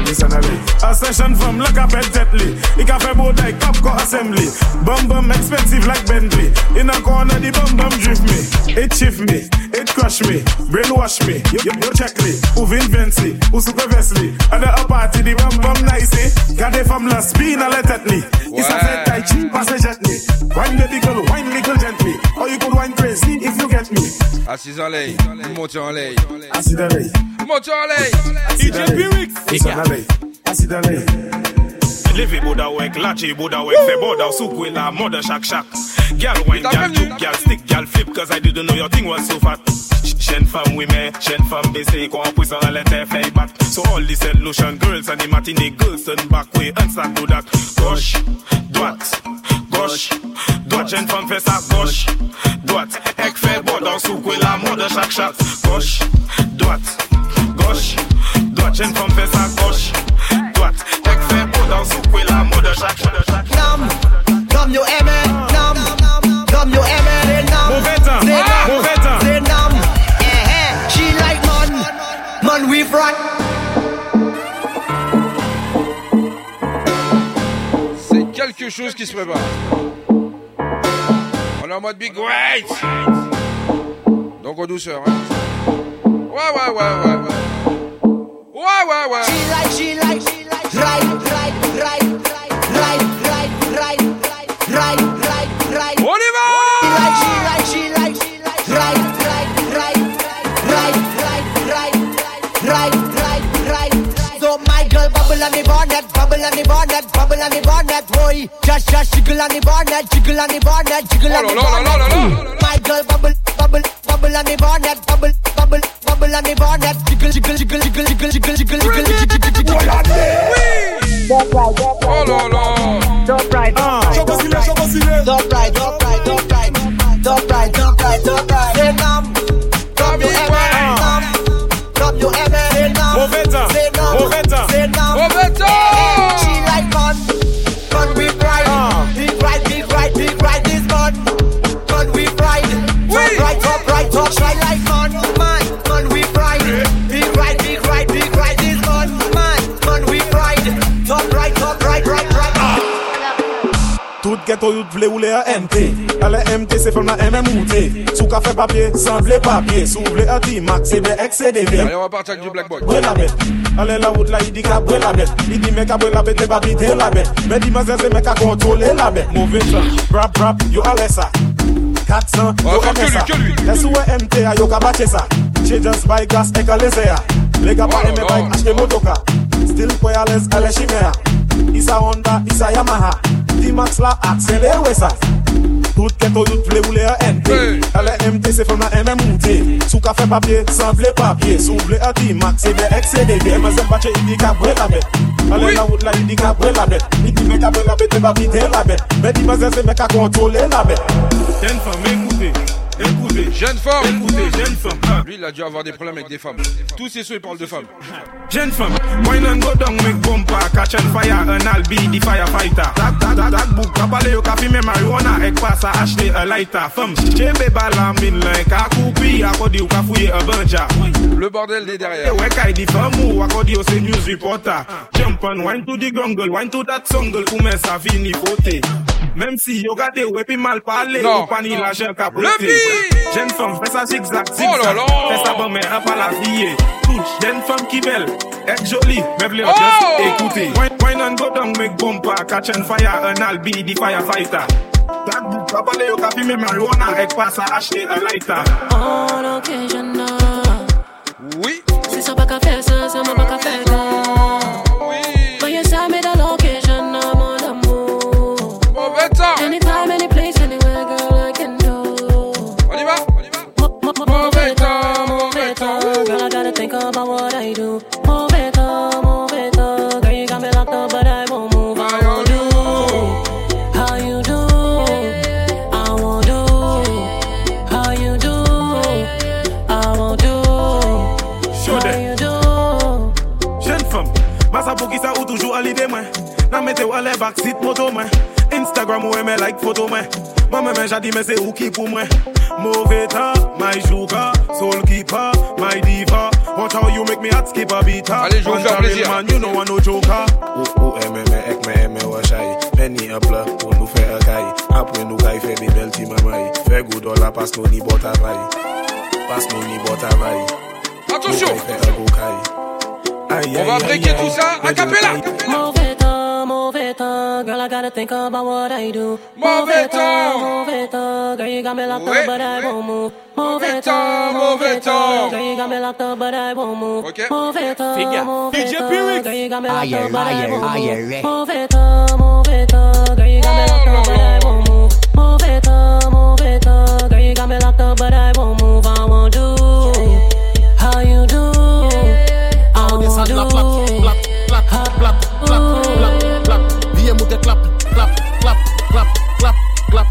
Listen à lui. A session from like a pet jetly. He can fait both like Capco assembly. Bum bum expensive like Bentley. In a corner the bum bum drift me. It shift me, it crush me, brainwash me. You, you, you check me, who Vinci, who super Wesley. And the upper party the bum bum nicey. Got it from la spin a let at me. It's a fait tai chi pass a gently. Wine baby girl, wine little gently. Or you could wine crazy if you get me. Assis en l'air, monte en l'air. Assis dans l'air. Monte en l'air. D J Pirix. Assis dans l'air. Assis dans l'air. Levy Buddha work, Lachi Buddha work, Fe Buddha, Sukwe la mother shack shack. Girl wine, girl juke, girl stick, girl flip, cause I didn't know your thing was so fat. Jeune femme, oui mais, jeune femme baissée, qu'on puisse en l'été fait bat. So all these solution girls and the matinee girls turn back way and start do that. Gauche, droite, gauche, droite, jeune femme fait ça, gauche, droite. Ek fait Buddha, Sukwe la mother shack shack. Gauche, droite, gauche, droite, jeune femme fait ça, gauche, droite. Ek fait Buddha, Sukwe la mother shack shack. Nam, nam yo aimé, nam, nam yo aimé, nam. Mauvais temps, mauvais temps. C'est nam, eh eh, she like man, man we front. C'est quelque chose qui se prépare. On est en mode big wait. Donc en douceur, hein. Ouais, ouais, ouais, ouais, ouais. Ouais, ouais, ouais. She like, she like, she like, right, right, right, right, right, right, right, right, right. On y va! She like, she like, she like, she like, right, right, right, right, right, right, right, right, right. So my girl bubble on the bonnet, bubble on the bonnet, bubble on the bonnet, boy. Just, just jiggle on the bonnet, jiggle on the bonnet, jiggle on the bonnet. My girl bubble, bubble, bubble on the bonnet, bubble, bubble, bubble on the bonnet, jiggle, jiggle, jiggle, jiggle, jiggle, jiggle, jiggle, jiggle, jiggle, jiggle, jiggle. Don't ride, don't ride, oh là là. Don't ride, don't ride, don't ride, don't ride, don't ride, don't ride, don't ride, don't ride, don't ride. Say nam, nam you ever, nam, nam you ever, say nam, mauvais temps, say nam, mauvais temps, say nam, mauvais temps. She like man, man we ride, big ride, big ride, big ride this man, man we ride, top right, top right, top right like man, man, man we ride, big ride, big ride, big ride this man, man, man we ride, top right, top right, right, right. Tout ghetto youth vle ou le a M T. Ale M T c'est from la M M ou T. Sou ka fait papier, sans vle papier. Sou vle a ti max, c'est B X C D V. Allez, on va partir avec du Black Boy. Brûle la bête. Allez la route là, il dit qu'à brûle la bête. Il dit mec à brûle la bête, t'es pas biter la bête. Mais dis-moi c'est mec à contrôler la bête. Mauvais temps, rap rap, yo allez ça. quatre cents, yo aimé ça. Laisse ou M T a yo ka bache ça. She just buy gas et ka laisse ya. Les gars pas aimé bike, acheter motoka. Still quoi à l'aise, allez chimera. Isa Honda, Isa Yamaha. D-Max la accélère ça. Tout ghetto youth vle ou le a N T. Ale M T c'est from la M M ou T. Sou ka fait papier, sans vle papier. Sou vle a D-Max, c'est B X C D V. Mais c'est bache, il dit qu'à brûler la bête. Ale la route là, il dit qu'à brûler la bête. Il dit mec à brûler la bête, t'es pas biter la bête. Mais dis-moi c'est mec à contrôler la bête. Jeune femme, écoutez. Écoutez, jeune femme, écoutez, jeune femme. Lui, il a dû avoir des problèmes avec des femmes. Tous ces ceux, ils parlent de femmes. Jeune femme, wine and go down, make bumper, catch and fire, and I'll be the firefighter. That, that, that, that book, kapale yo kafi me marijuana, ek passe à acheter un lighter. Femme, chebe balamin, like a coupi, akodi ou ka fouiller un banja. Le bordel des derrière. Ouais, kay di femme ou akodi ou c'est news reporter. Jump and wine to the jungle, wine to that jungle, ou men sa vini pote. Même si yo gade ou epi mal parler, ou pas ni la gel ka pote. Jeune femme, fais ça zigzag, zigzag. Oh là là. Fais ça bon, mais un pas la vie. Touche, jeune femme qui belle, est jolie, mais v'lez oh. Just écouter. Wine, wine and go down, make bumper, catch and fire, and I'll be the firefighter. That book, kapale yo kapi me marijuana, ek passe à acheter un lighter. On occasion, oui. Si ça pas qu'à faire ça, ça m'a pas qu'à faire ça. Oui. But yes, I made a location, mon amour. Mauvais temps. Anytime, any place, anywhere, girl, I can do. On y va, on y va. Mauvais temps, mauvais temps. Girl, I gotta think about what I do. Move it up, move it up. Girl, you got me locked up, but I won't move. I won't do how you do. I won't do how you do. I won't do how you do. Jeune femme, massa pour qui ça ou toujours à l'idée, moi. N'a mette ou à les backseat moto, moi. Instagram ou aimé like photo, moi. Moi-même, j'ai dit, mais c'est où qui pour moi? Mauvais temps, my jouka, soul keeper, my diva. much how you make me hot skip a beat. Allez, je vais vous faire plaisir. Man, you know I no joker. Ou ou aime me ek me aime wa shy. Penny a plat pour nous faire un caille. Après nous caille fait bi belle ti mamai. Fait good dollar passe nous ni bota vai. Passe nous ni bota vai. Attention. On va breaker tout ça a cappella. Move it on, move it on, girl, I gotta think about what I do. Move it on, move it on, girl, you got me locked ouais. up, but I won't move. Move it on, move it on, girl, you got me locked up, but I won't move. Okay. Move it on, move it on, girl, you got me locked up, but I won't move. Move it on, move it on, girl, you got me locked up, but I won't move. Move it on, move it on, girl, you got me locked up, but I won't move. I won't do how you do. I won't do. Clap, clap, clap, clap, clap, clap. Viens monter, clap, clap, clap, clap, clap, clap.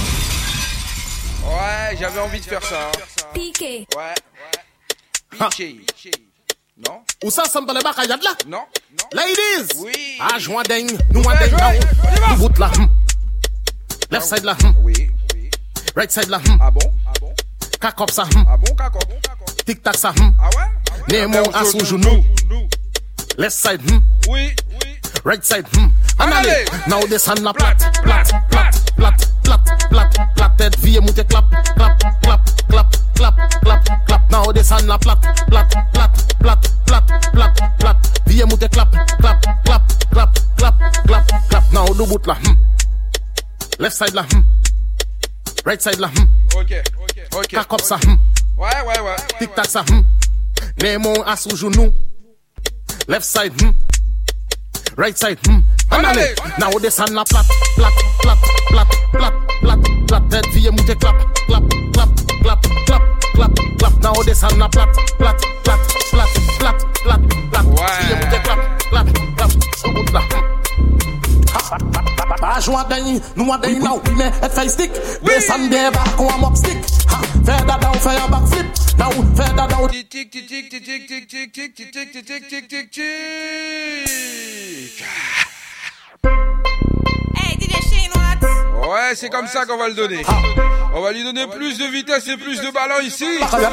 Ouais, j'avais envie de faire ça. Piqué. Ouais. Piqué. Non. Où ça, ça me parle pas, Kayad là? Non. Ladies. Oui. Ah, joint ding, nous en ding now. Nous bout là. Left side là. Oui. Right side là. Ah bon? Ah bon? Kakop ça. Ah bon, kakop? Tic tac ça. Ah ouais? Némon à sous genou. Left side. Oui. Right side. En allez. Now descend la plate, plate, plate, plate, plate, plate, plate. Tête vie monter clap, clap, clap, clap, clap, clap, clap. Now descend la plate, plate, plate, plate, plate, plate, plate. Vie monter clap, clap, clap, clap, clap, clap, clap. Now do bout là. Left side là. Right side là. Ok, ok, ok. Kakop ça. Ouais, ouais, ouais. Tic tac ça. Némon à sous genou. Left side. Right side. En allez. Now descend la plate, plate, plate, plate, plate, plate, plate. Tête vie monter clap, clap, clap, clap, clap, clap, clap. Now descend la plate, plate, plate, plate, plate, plate, plate. Vie monter clap, clap, clap. Sous bout là. Pas jouer à Dany, nous à Dany now, mais et fait stick. Descend des barres qu'on a mob stick. Faire dada ou faire un backflip. Now, faire dada ou tic tic tic tic tic tic tic tic tic tic tic tic tic tic tic. Hey, D J Chinois. Ouais, c'est comme ça qu'on va le donner. On va lui donner plus de vitesse et plus de ballon ici.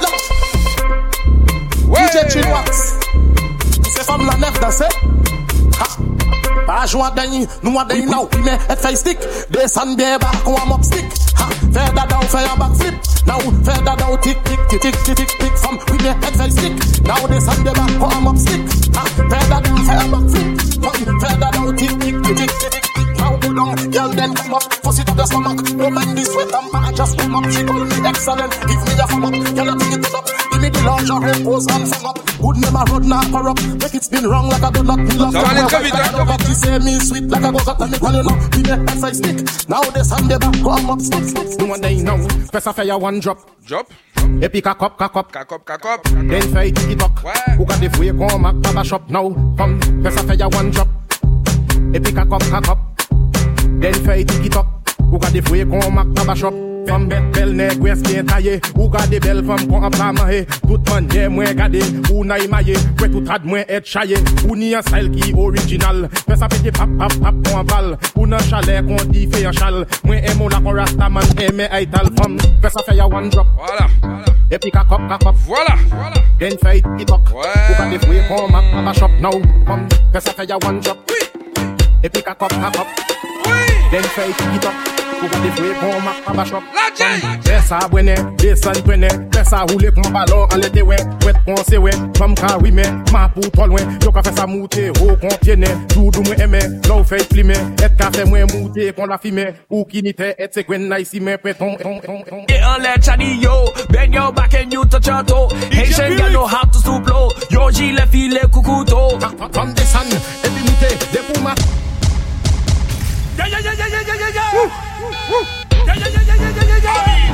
Ouais. D J Chinois. C'est comme la nef danser. Pas jouer à Dany, nous à Dany now, mais et fait stick. Descend bien bas, qu'on a mob stick. Faire dada ou faire un backflip. Now, faire dada ou tic tic tic tic tic tic tic. From, oui mais et fait stick. Now, descend bien bas, qu'on a mob stick. Faire dada ou faire un backflip. Faire dada ou tic tic tic tic tic tic. Now, go down, girl then come up. Fuss it to the stomach. No man this sweat and I just come up. She call me excellent. Give me a thumb up. Girl, I think it up. Give me the lingerie, pose and sing up. Good name a road, not corrupt. Make it spin wrong like a good luck. Ça va aller très vite, hein. She say me sweet like a go-cut and me call you now. We make F I stick. Now this hand the back come up stick stick. No one day now. Press a fire one drop. Drop. Et puis kakop kakop. Kakop kakop. Then fay tiki-tok. Ou ka defouye kon mak baba shop now. Come press a fire one drop. Et puis kakop kakop. Then fay tiki-tok. Ou ka defouye kon mak baba shop. Femme bête belle nèg ouest bien taillé. Ou gade belle femme qu'on a pas mahé. Tout manière moins gade. Ou na imaillé. Prêt tout rad moins être chaillé. Ou ni un style qui original. Fais ça pété pap pap pap qu'on en balle. Ou nan chalet qu'on dit fait un chal. Moins aimons la qu'on rasta man aimé aital femme. Fais ça fait ya one drop. Voilà. Et puis kakop kakop. Voilà. Voilà. Then fait tiktok. Ou gade fouye qu'on mak papa shop now. Femme. Fais ça fait ya one drop. Et puis kakop kakop. Then fait tiktok. Ou gade fouye qu'on mak papa shop. Fais ça bonne, descend prenne. Fais ça rouler qu'on ballon en l'été ouais. Ouette qu'on c'est ouais. Femme ka oui mais ma pour trop loin. Yo ka fait ça monter haut qu'on tienne. Tout dou moi aimer. L'eau fait flimer. Et ka fait moi monter qu'on la filmer. Ou qui n'était et c'est gwen nice mais péton. Get on that chatty yo. Bend your back and you touch your toe. Haitian girl know how to stoop low. Yo gilet file kukuto. From the sun. Et puis monter des pour ma. Yeah yeah yeah yeah yeah yeah yeah yeah. Yeah yeah yeah yeah yeah yeah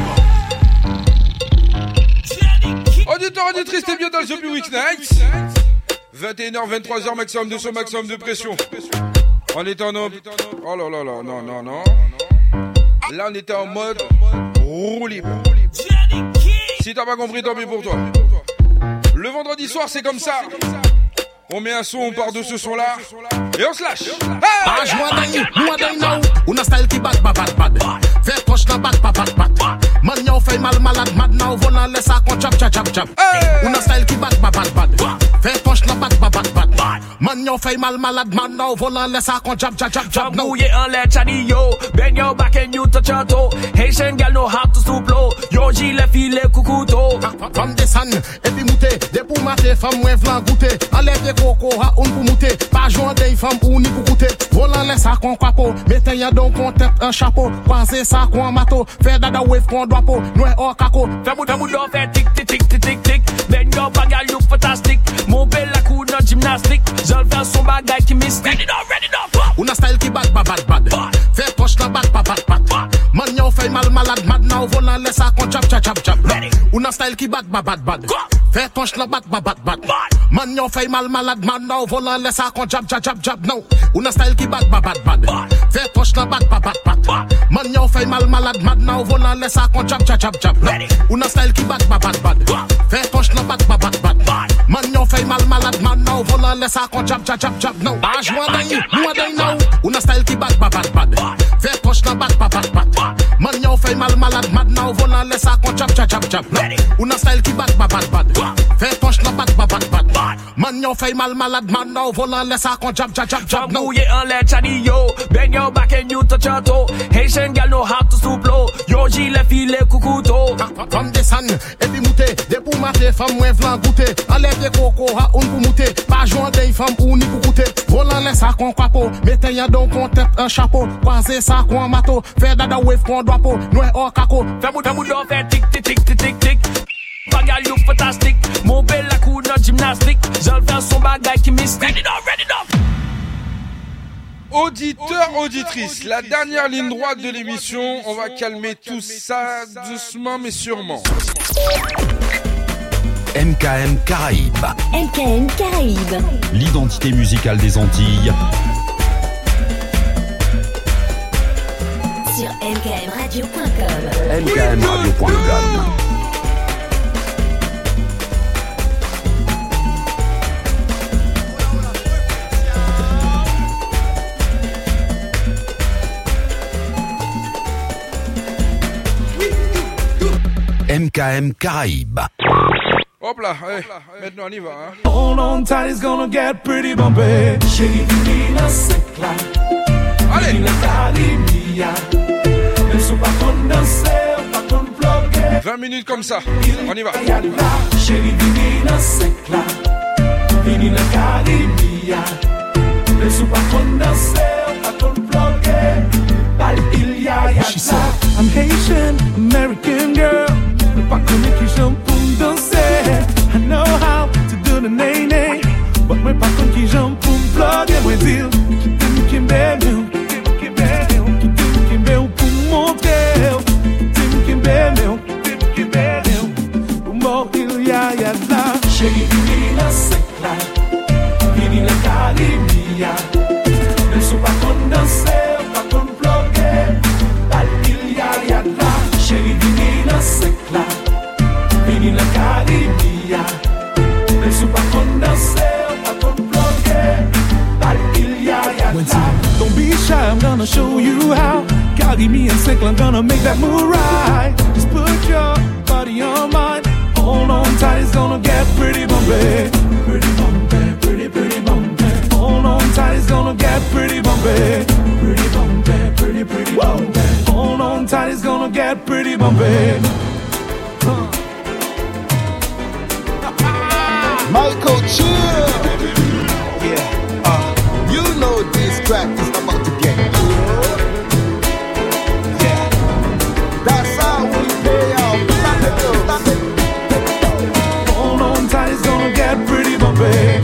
yeah. Auditeur, auditrice, t'es bien dans le The Public Night. vingt et une heures, vingt-trois heures, maximum de son, maximum de pression. On est en mode... Oh là là là, non, non, non. Là, on était en mode roue libre. Si t'as pas compris, tant pis pour toi. Le vendredi soir, c'est comme ça. On met un son, on part de ce son-là, et on se lâche. Ah, joie d'ailleurs, moi d'ailleurs, on a style qui bat, bat, bat, bat. Fait poche la bat, bat, bat, bat. Man, yo fait mal, malade, mad, now, volant, laisse ça, qu'on chap, chap, chap, chap. On a style qui bat, bat, bat, bat. yon fait mal malade, man, now, volant, laisse ça qu'on jab, jab, jab, jab, no. Mouillé en l'air, chadi yo. Bend your back and you touch your toe. Haitian gal know how to stoop low. Yo, gilet, filet, coucouto. Femme descend, et puis mouté. Des pour mater, femme, ouin, vlan, goûter. Enlève des coco, ha, on pour mouter. Pas joint des femmes, ou ni pour goûter. Volant, laisse ça qu'on capo. Mettez y'a donc qu'on tête un chapeau. Croisez ça qu'on mato. Faire dada wave qu'on doit po. Noué hors caco. Fais bout, fais bout, d'en faire tic, tic, tic, tic, tic, tic. Bend your back, gal, look fantastic. Mon bel la coup, non gymnastique. J'en fais son bagay qui mystique. Ready up, ready up. Una style qui bad, bad, bad, bad. Fait poche la bad, bad, bad, bad. Man, yon fait mal malade, mad now. Volant, laisse ça qu'on jab, jab, jab, jab. Una style qui bad, bad, bad, bad. Fait poche la bad, bad, bad, bad. Man, yon fait mal malade, mad now. Volant, laisse ça qu'on jab, jab, jab, jab, no. Una style qui bad, bad, bad, bad. Fait poche la bad, bad, bad, bad. Man, yon fait mal malade, mad now. Volant, laisse ça qu'on jab, jab, jab, jab. Una style qui bad, bad, bad, bad. Fait poche la bad, bad, bad, bad. Man, yon fait mal malade, mad now. Volant, laisse ça qu'on jab, jab, jab, jab, no. Ah, j'vois d'ailleurs, moi d'ailleurs, now. Una style qui bad, bad, bad, bad. Fait poche la bad, bad, bad, bad. Man, yon fait mal malade, mad now. Volant, laisse ça qu'on jab, jab, jab, jab. Una style qui bad, bad, bad, bad. Fait poche la bad, bad, bad, bad. Man, yon fait mal malade, mad now. Volant, laisse ça qu'on jab, jab, jab, jab, no. Mouillé en l'air, chadi yo. Bend your back and you touch your toe. Haitian gal know how to stoop low. Yo, gilet, filet, coucouto. Femme descend, et puis mouté. Des pour mater, femme, ouin, vlan, goûter. Enlève des coco, ha, on pour mouter. Pas joint des femmes, ou ni pour goûter. Volant, laisse ça qu'on capo. Mettez y'a donc qu'on tête un chapeau. Croisez ça qu'on mato. Faire dada wave qu'on doit po. Noué hors caco. Fais bout, fais bout, d'en faire tic, tic, tic, tic, tic, tic. Bagay look fantastic. Mon bel la coup, non gymnastique. J'en fais son bagay qui mystique. Ready up, ready up. Auditeurs, auditrices, la dernière ligne droite de l'émission, on va calmer tout ça doucement mais sûrement. M K M Caraïbes. M K M Caraïbes. L'identité musicale des Antilles. Sur m k m radio point com. m k m radio point com. M K M Caraïbes. Hop là, allez, maintenant on y va. Hein. Hold on tight, it's gonna get pretty bumpy. Chérie, divina, c'est clair. Allez. Divina, Caribia. Ne sont pas qu'on danser, pas qu'on bloquer. vingt minutes comme ça, on y va. Chérie, divina, c'est clair. Divina, Caribia. Ne sont pas qu'on danser, pas qu'on bloquer. Bal, il y a, ya. She said, I'm Haitian, American girl. Pas qu'on est qui j'aime pour me danser. I know how to do the nay-nay. But moi pas qu'on qui j'aime pour me plugger. Moi dire, qui t'aime, qui m'aime, qui t'aime, qui m'aime pour montrer. Qui t'aime, qui m'aime, qui m'aime pour mourir, ya, ya, la. Chérie, divina, c'est clair. Divina, Caribia. Ne sont pas qu'on danser, pas qu'on plugger. Bal, il y a, ya, la. Chérie, divina, c'est clair. Vini la Caribia. Ne sont pas qu'on danser, pas qu'on bloquer. Bal, il y a, ya, la. Don't be shy, I'm gonna show you how. Caribbean sick, I'm gonna make that move right. Just put your body on mine. Hold on tight, it's gonna get pretty bumpy. Pretty bumpy, pretty, pretty bumpy. Hold on tight, it's gonna get pretty bumpy. Pretty bumpy, pretty, pretty bumpy. Hold on tight, it's gonna get pretty bumpy. Huh. Michael Chill. Yeah, uh, you know this track is about to get good. Yeah, that's how we pay off. Stop it, stop it. Hold on tight, it's gonna get pretty bumpy.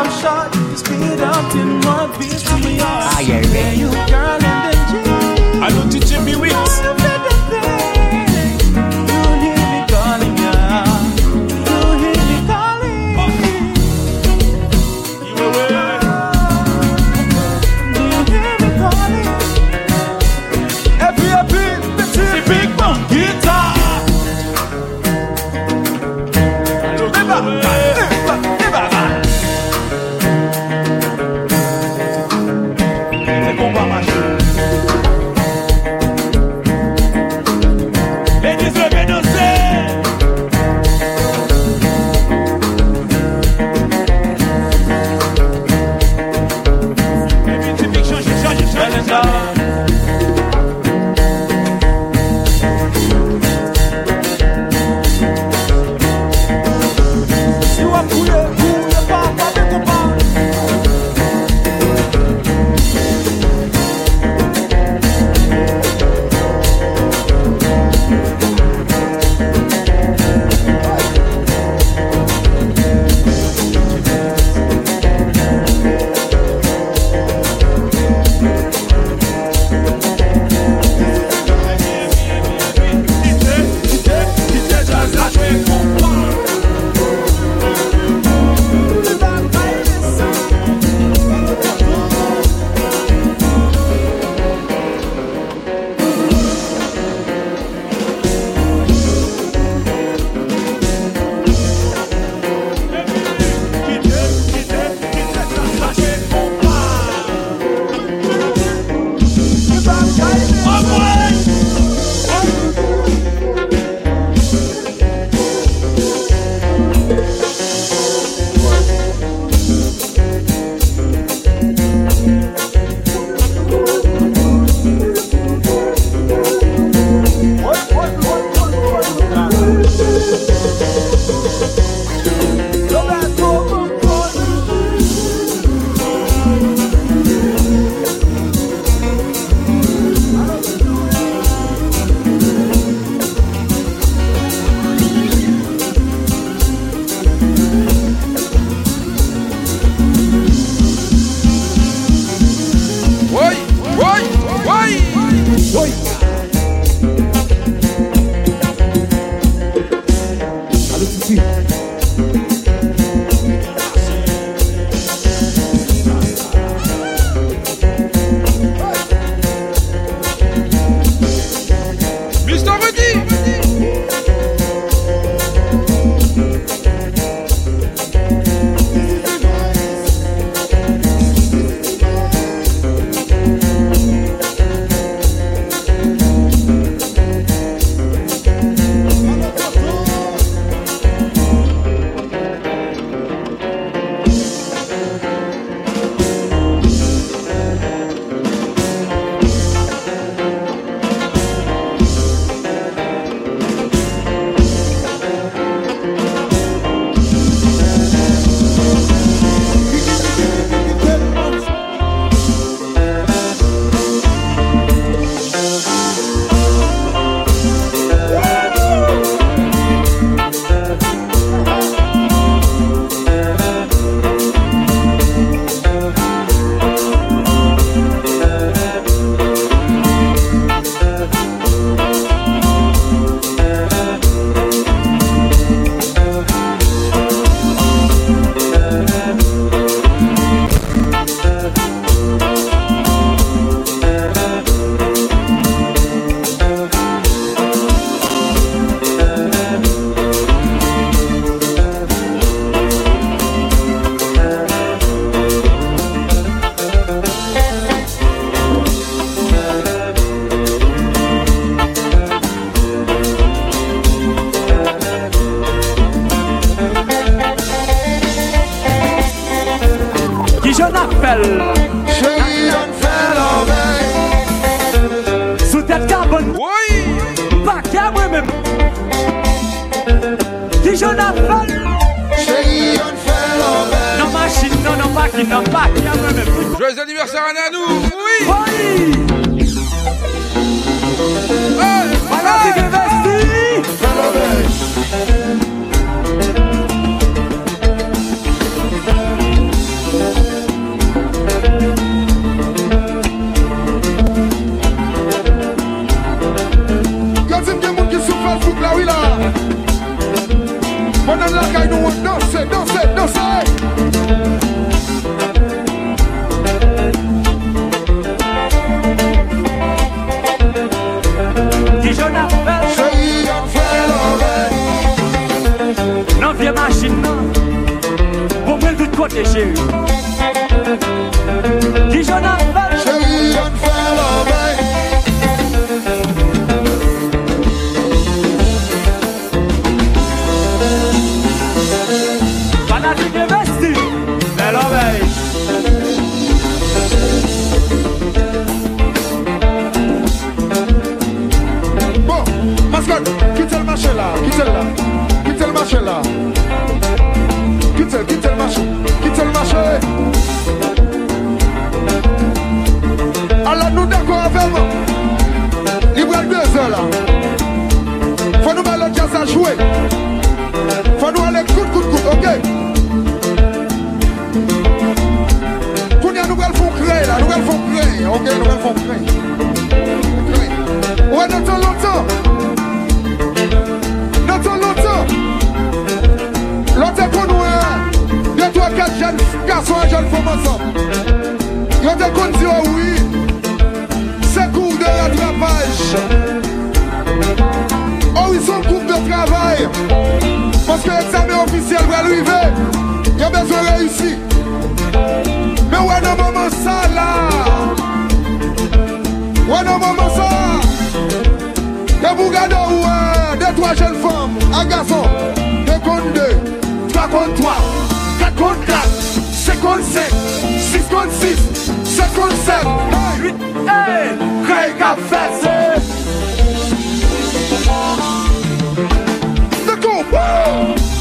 I'm short, you speed up in one piece to me. Are you ready? You girl in the gym. I don't teach Jimmy Wicks. You hear me calling, yeah. You hear me calling. You away. You hear me calling. Happy, happy, the big bang guitar. Fell. Chérie, on fait l'envers. Sous tête carbone. Oui. Pas qu'à moi-même. Qui je n'appelle. Chérie, on fait l'envers. Non, machine, non, non, pas qui, non, pas qu'à moi-même. Joyeux anniversaire à Nanou. Oui. Oui. Hey, voilà, c'est que vesti. Fais l'envers. ça là. Faut nous mettre le jazz à jouer. Faut nous aller coup, coup, coup, ok? Kounia, nous allons faire créer là, nous allons faire créer, ok? Nous allons faire créer. Ouais, notre longtemps. Notre longtemps. L'autre qu'on nous a, deux, trois, quatre jeunes garçons et jeunes femmes ensemble. L'autre qu'on dit oh oui, c'est cours de rattrapage. Oh, ils sont cours de travail. Parce que l'examen officiel va arriver. Il y a besoin de réussir. Mais ouais, non, maman, ça là. Ouais, non, maman, ça. Et vous regardez, ouais, deux, trois jeunes femmes, un garçon. Deux contre deux, trois contre trois, quatre contre quatre, cinq contre cinq, six contre six, sept contre sept. Hey, huit, hey, Craig a fait ça. C'est cool, wouh!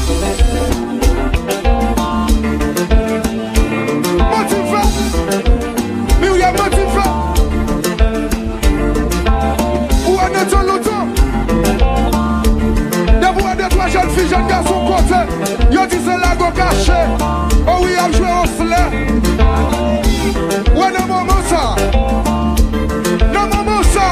Motivé, mais il y a motivé. Où est notre longtemps? D'abord, deux, trois jeunes filles, jeunes garçons côté. Yo dit c'est la go caché. Oh oui, a joué au flair. Ouais, non, maman, ça. Non, maman, ça.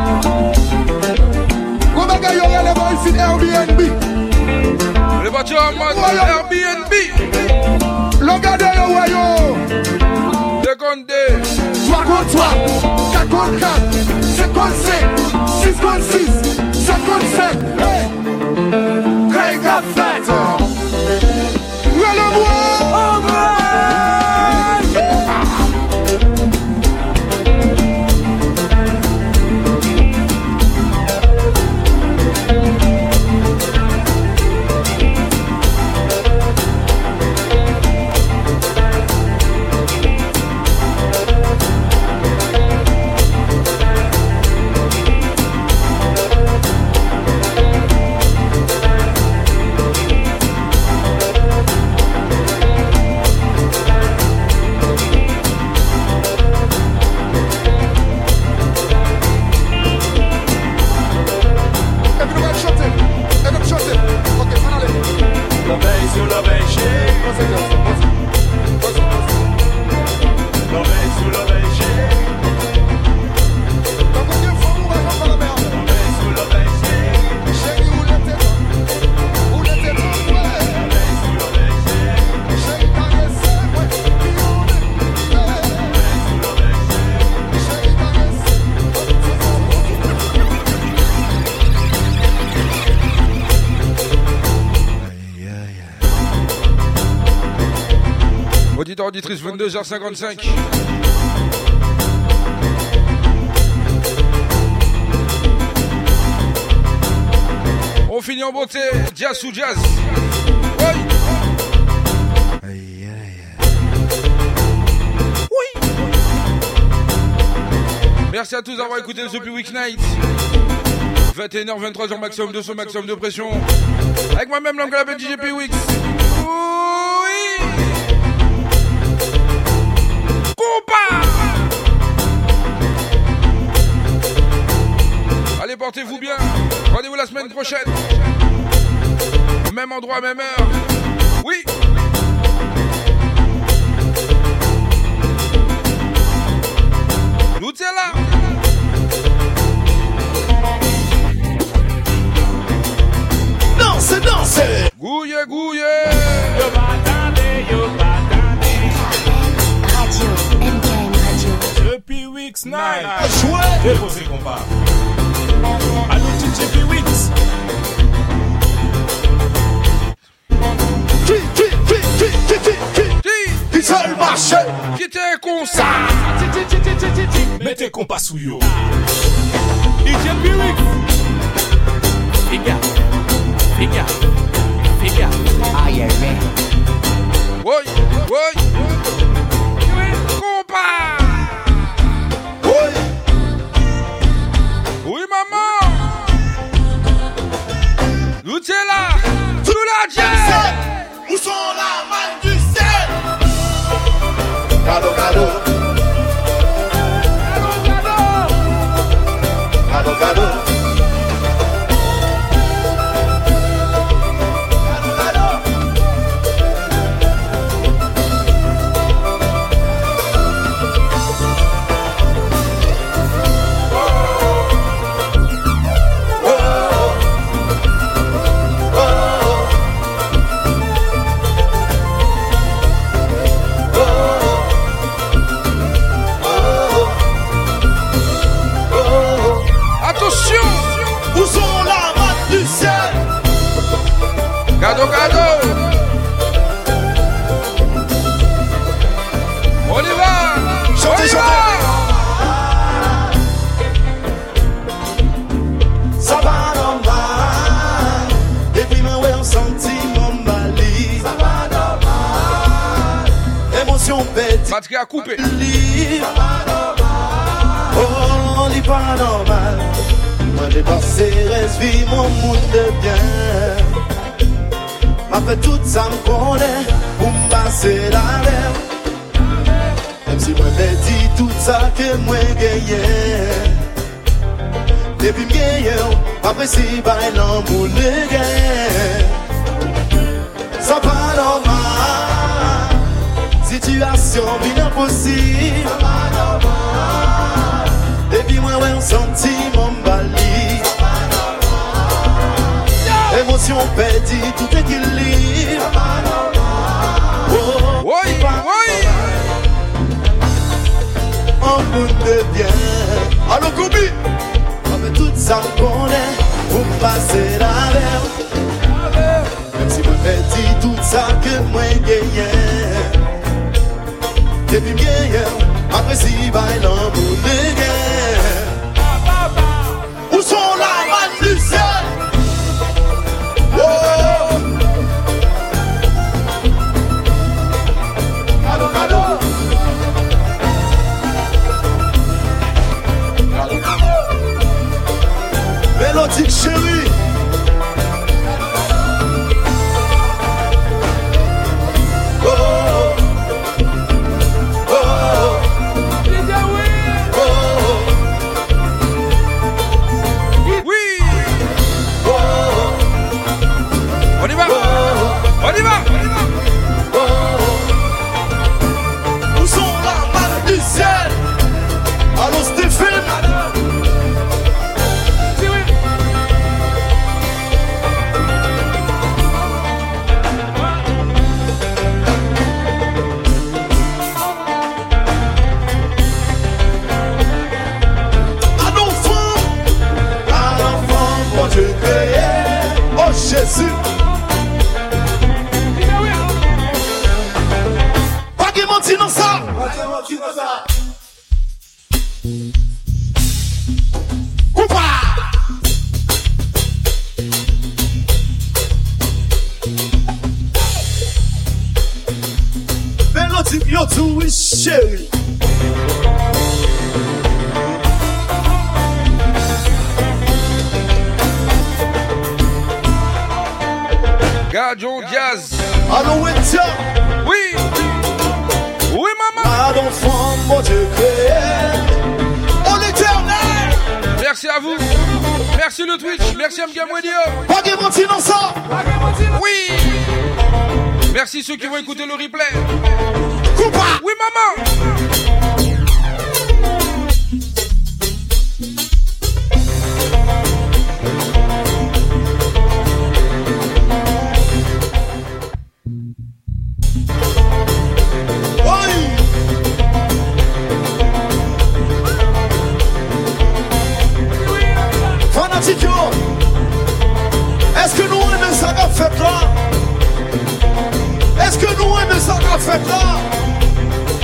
Go baga, yo, y'a les boys ici Airbnb. Les voitures en mode Airbnb. Le gardé, yo, ouais, yo. deux contre deux. trois contre trois, quatre contre quatre, cinq contre cinq, six contre six, sept contre sept. Hey! Craig a fait. Ouais, le bois. Auditeur, auditrice, vingt-deux heures cinquante-cinq. On finit en beauté, jazz sous jazz. Ouais. Aïe, aïe. Oui. Merci à tous d'avoir écouté The Week Night. vingt et une heures, vingt-trois heures maximum de son maximum de pression. Avec moi-même, l'homme que l'appelle D J P-Wix. Oui. Compa. Allez, portez-vous bien. Rendez-vous la semaine prochaine. Même endroit, même heure. Oui. Nous t'es là. Dansez, dansez. Gouye, gouye. Radio, M K M Radio. Depuis Weeks Night. Déposez combat. Allô, D J P-Wix. Qui, qui, qui, qui, qui, qui, qui, qui c'est le marché? Qui t'es con ça? Mettez compas sous yo. D J P-Wix. Figa, figa, figa. Aïe, aïe, aïe. Oui, oui. Compas. Oui. Oui, maman. Nous t'es là. Sous la jazz. Où sont la main du ciel? Cadeau, cadeau. Cadeau, cadeau. Cadeau, cadeau. perdu. Batterie à couper. Oh, il pas normal. Moi j'ai passé, reste vie, mon monde de bien. M'a fait tout ça me connaît pour me passer la mer. Même si moi j'ai dit tout ça que moi gagné. Depuis m'gagné, après si par l'amour de guerre. C'est pas normal. Situation bien impossible. C'est pas normal. Depuis moi ouais on sentit mon bali. Émotion perdue, tout équilibre. Oh, oui, oui. En bout de bien. Allô Goubi. Avec tout ça qu'on est, pour passer la mer. Même si moi perdu tout ça que moi gagné. Depuis bien, après si bail l'amour de guerre. Où sont la man du ciel? Oh! Allô, allô! Mélodique chérie! On y va, on y va. Où sont la manne du ciel? Allô Stéphane? Un enfant, un enfant, mon Dieu créé. Oh Jésus. Não sabe. Opa! Melody, you're too sherry. Gadjon Diaz. Allô, Winter. Oui. Oui, maman. Pas d'enfant, mon Dieu créé. En éternel. Merci à vous. Merci le Twitch. Merci à Mgamwedio. Pas de mentir dans ça. Oui. Merci ceux qui vont écouter le replay. Coupa. Oui, maman. Est-ce que nous aimons ça qu'a fait là? Est-ce que nous aimons ça qu'a fait là?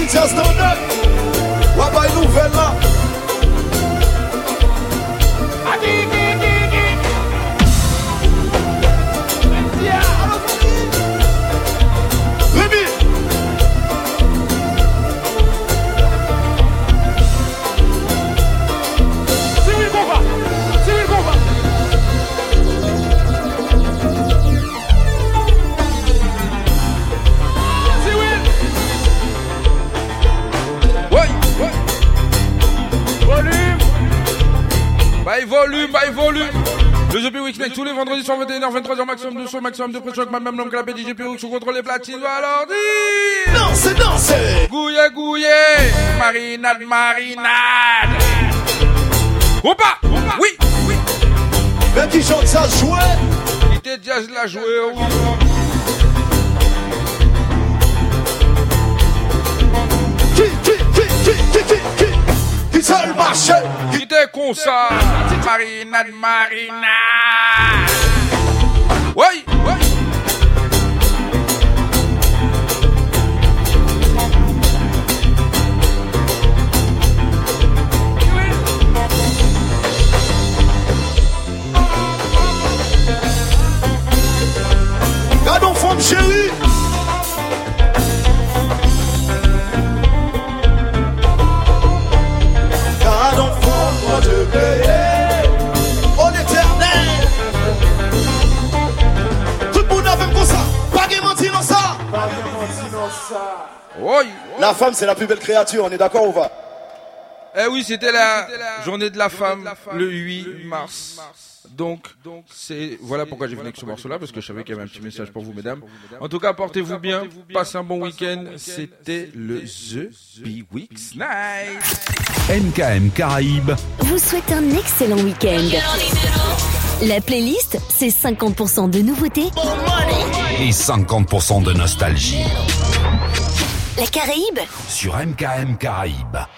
Pictures down there. What by nouvelle là? By volume, by volume. Le G P Weekend tous les vendredis sur vingt et une heures, vingt-trois heures, maximum de son, maximum de pression avec ma même nom que la D J P sous contrôle les platines. Alors dis dansez, dansez. Gouillé, gouillé. Marinade, marinade. Opa, opa. Oui, oui. Mais qui chante ça jouer? Qui t'es jazz la jouer, oui. Qui, qui, qui, qui, qui, qui, qui, qui seul marché? Qui t'es con ça? Marinade, marinade. Oui, oui. Gardons femme chérie. Gardons femme moi de payer au l'éternel. Tout le monde a même comme ça. Pas de mentir dans ça. Pas de mentir dans ça. Oui. La femme c'est la plus belle créature, on est d'accord ou pas? Eh oui, c'était la journée de la femme le huit mars. Donc, c'est voilà pourquoi j'ai venu avec ce morceau-là, parce que je savais qu'il y avait un petit message pour vous, mesdames. En tout cas, portez-vous bien, passez un bon week-end. C'était le The B-Weeks Night. M K M Caraïbes vous souhaite un excellent week-end. La playlist, c'est cinquante pour cent de nouveautés et cinquante pour cent de nostalgie. La Caraïbe sur M K M Caraïbes.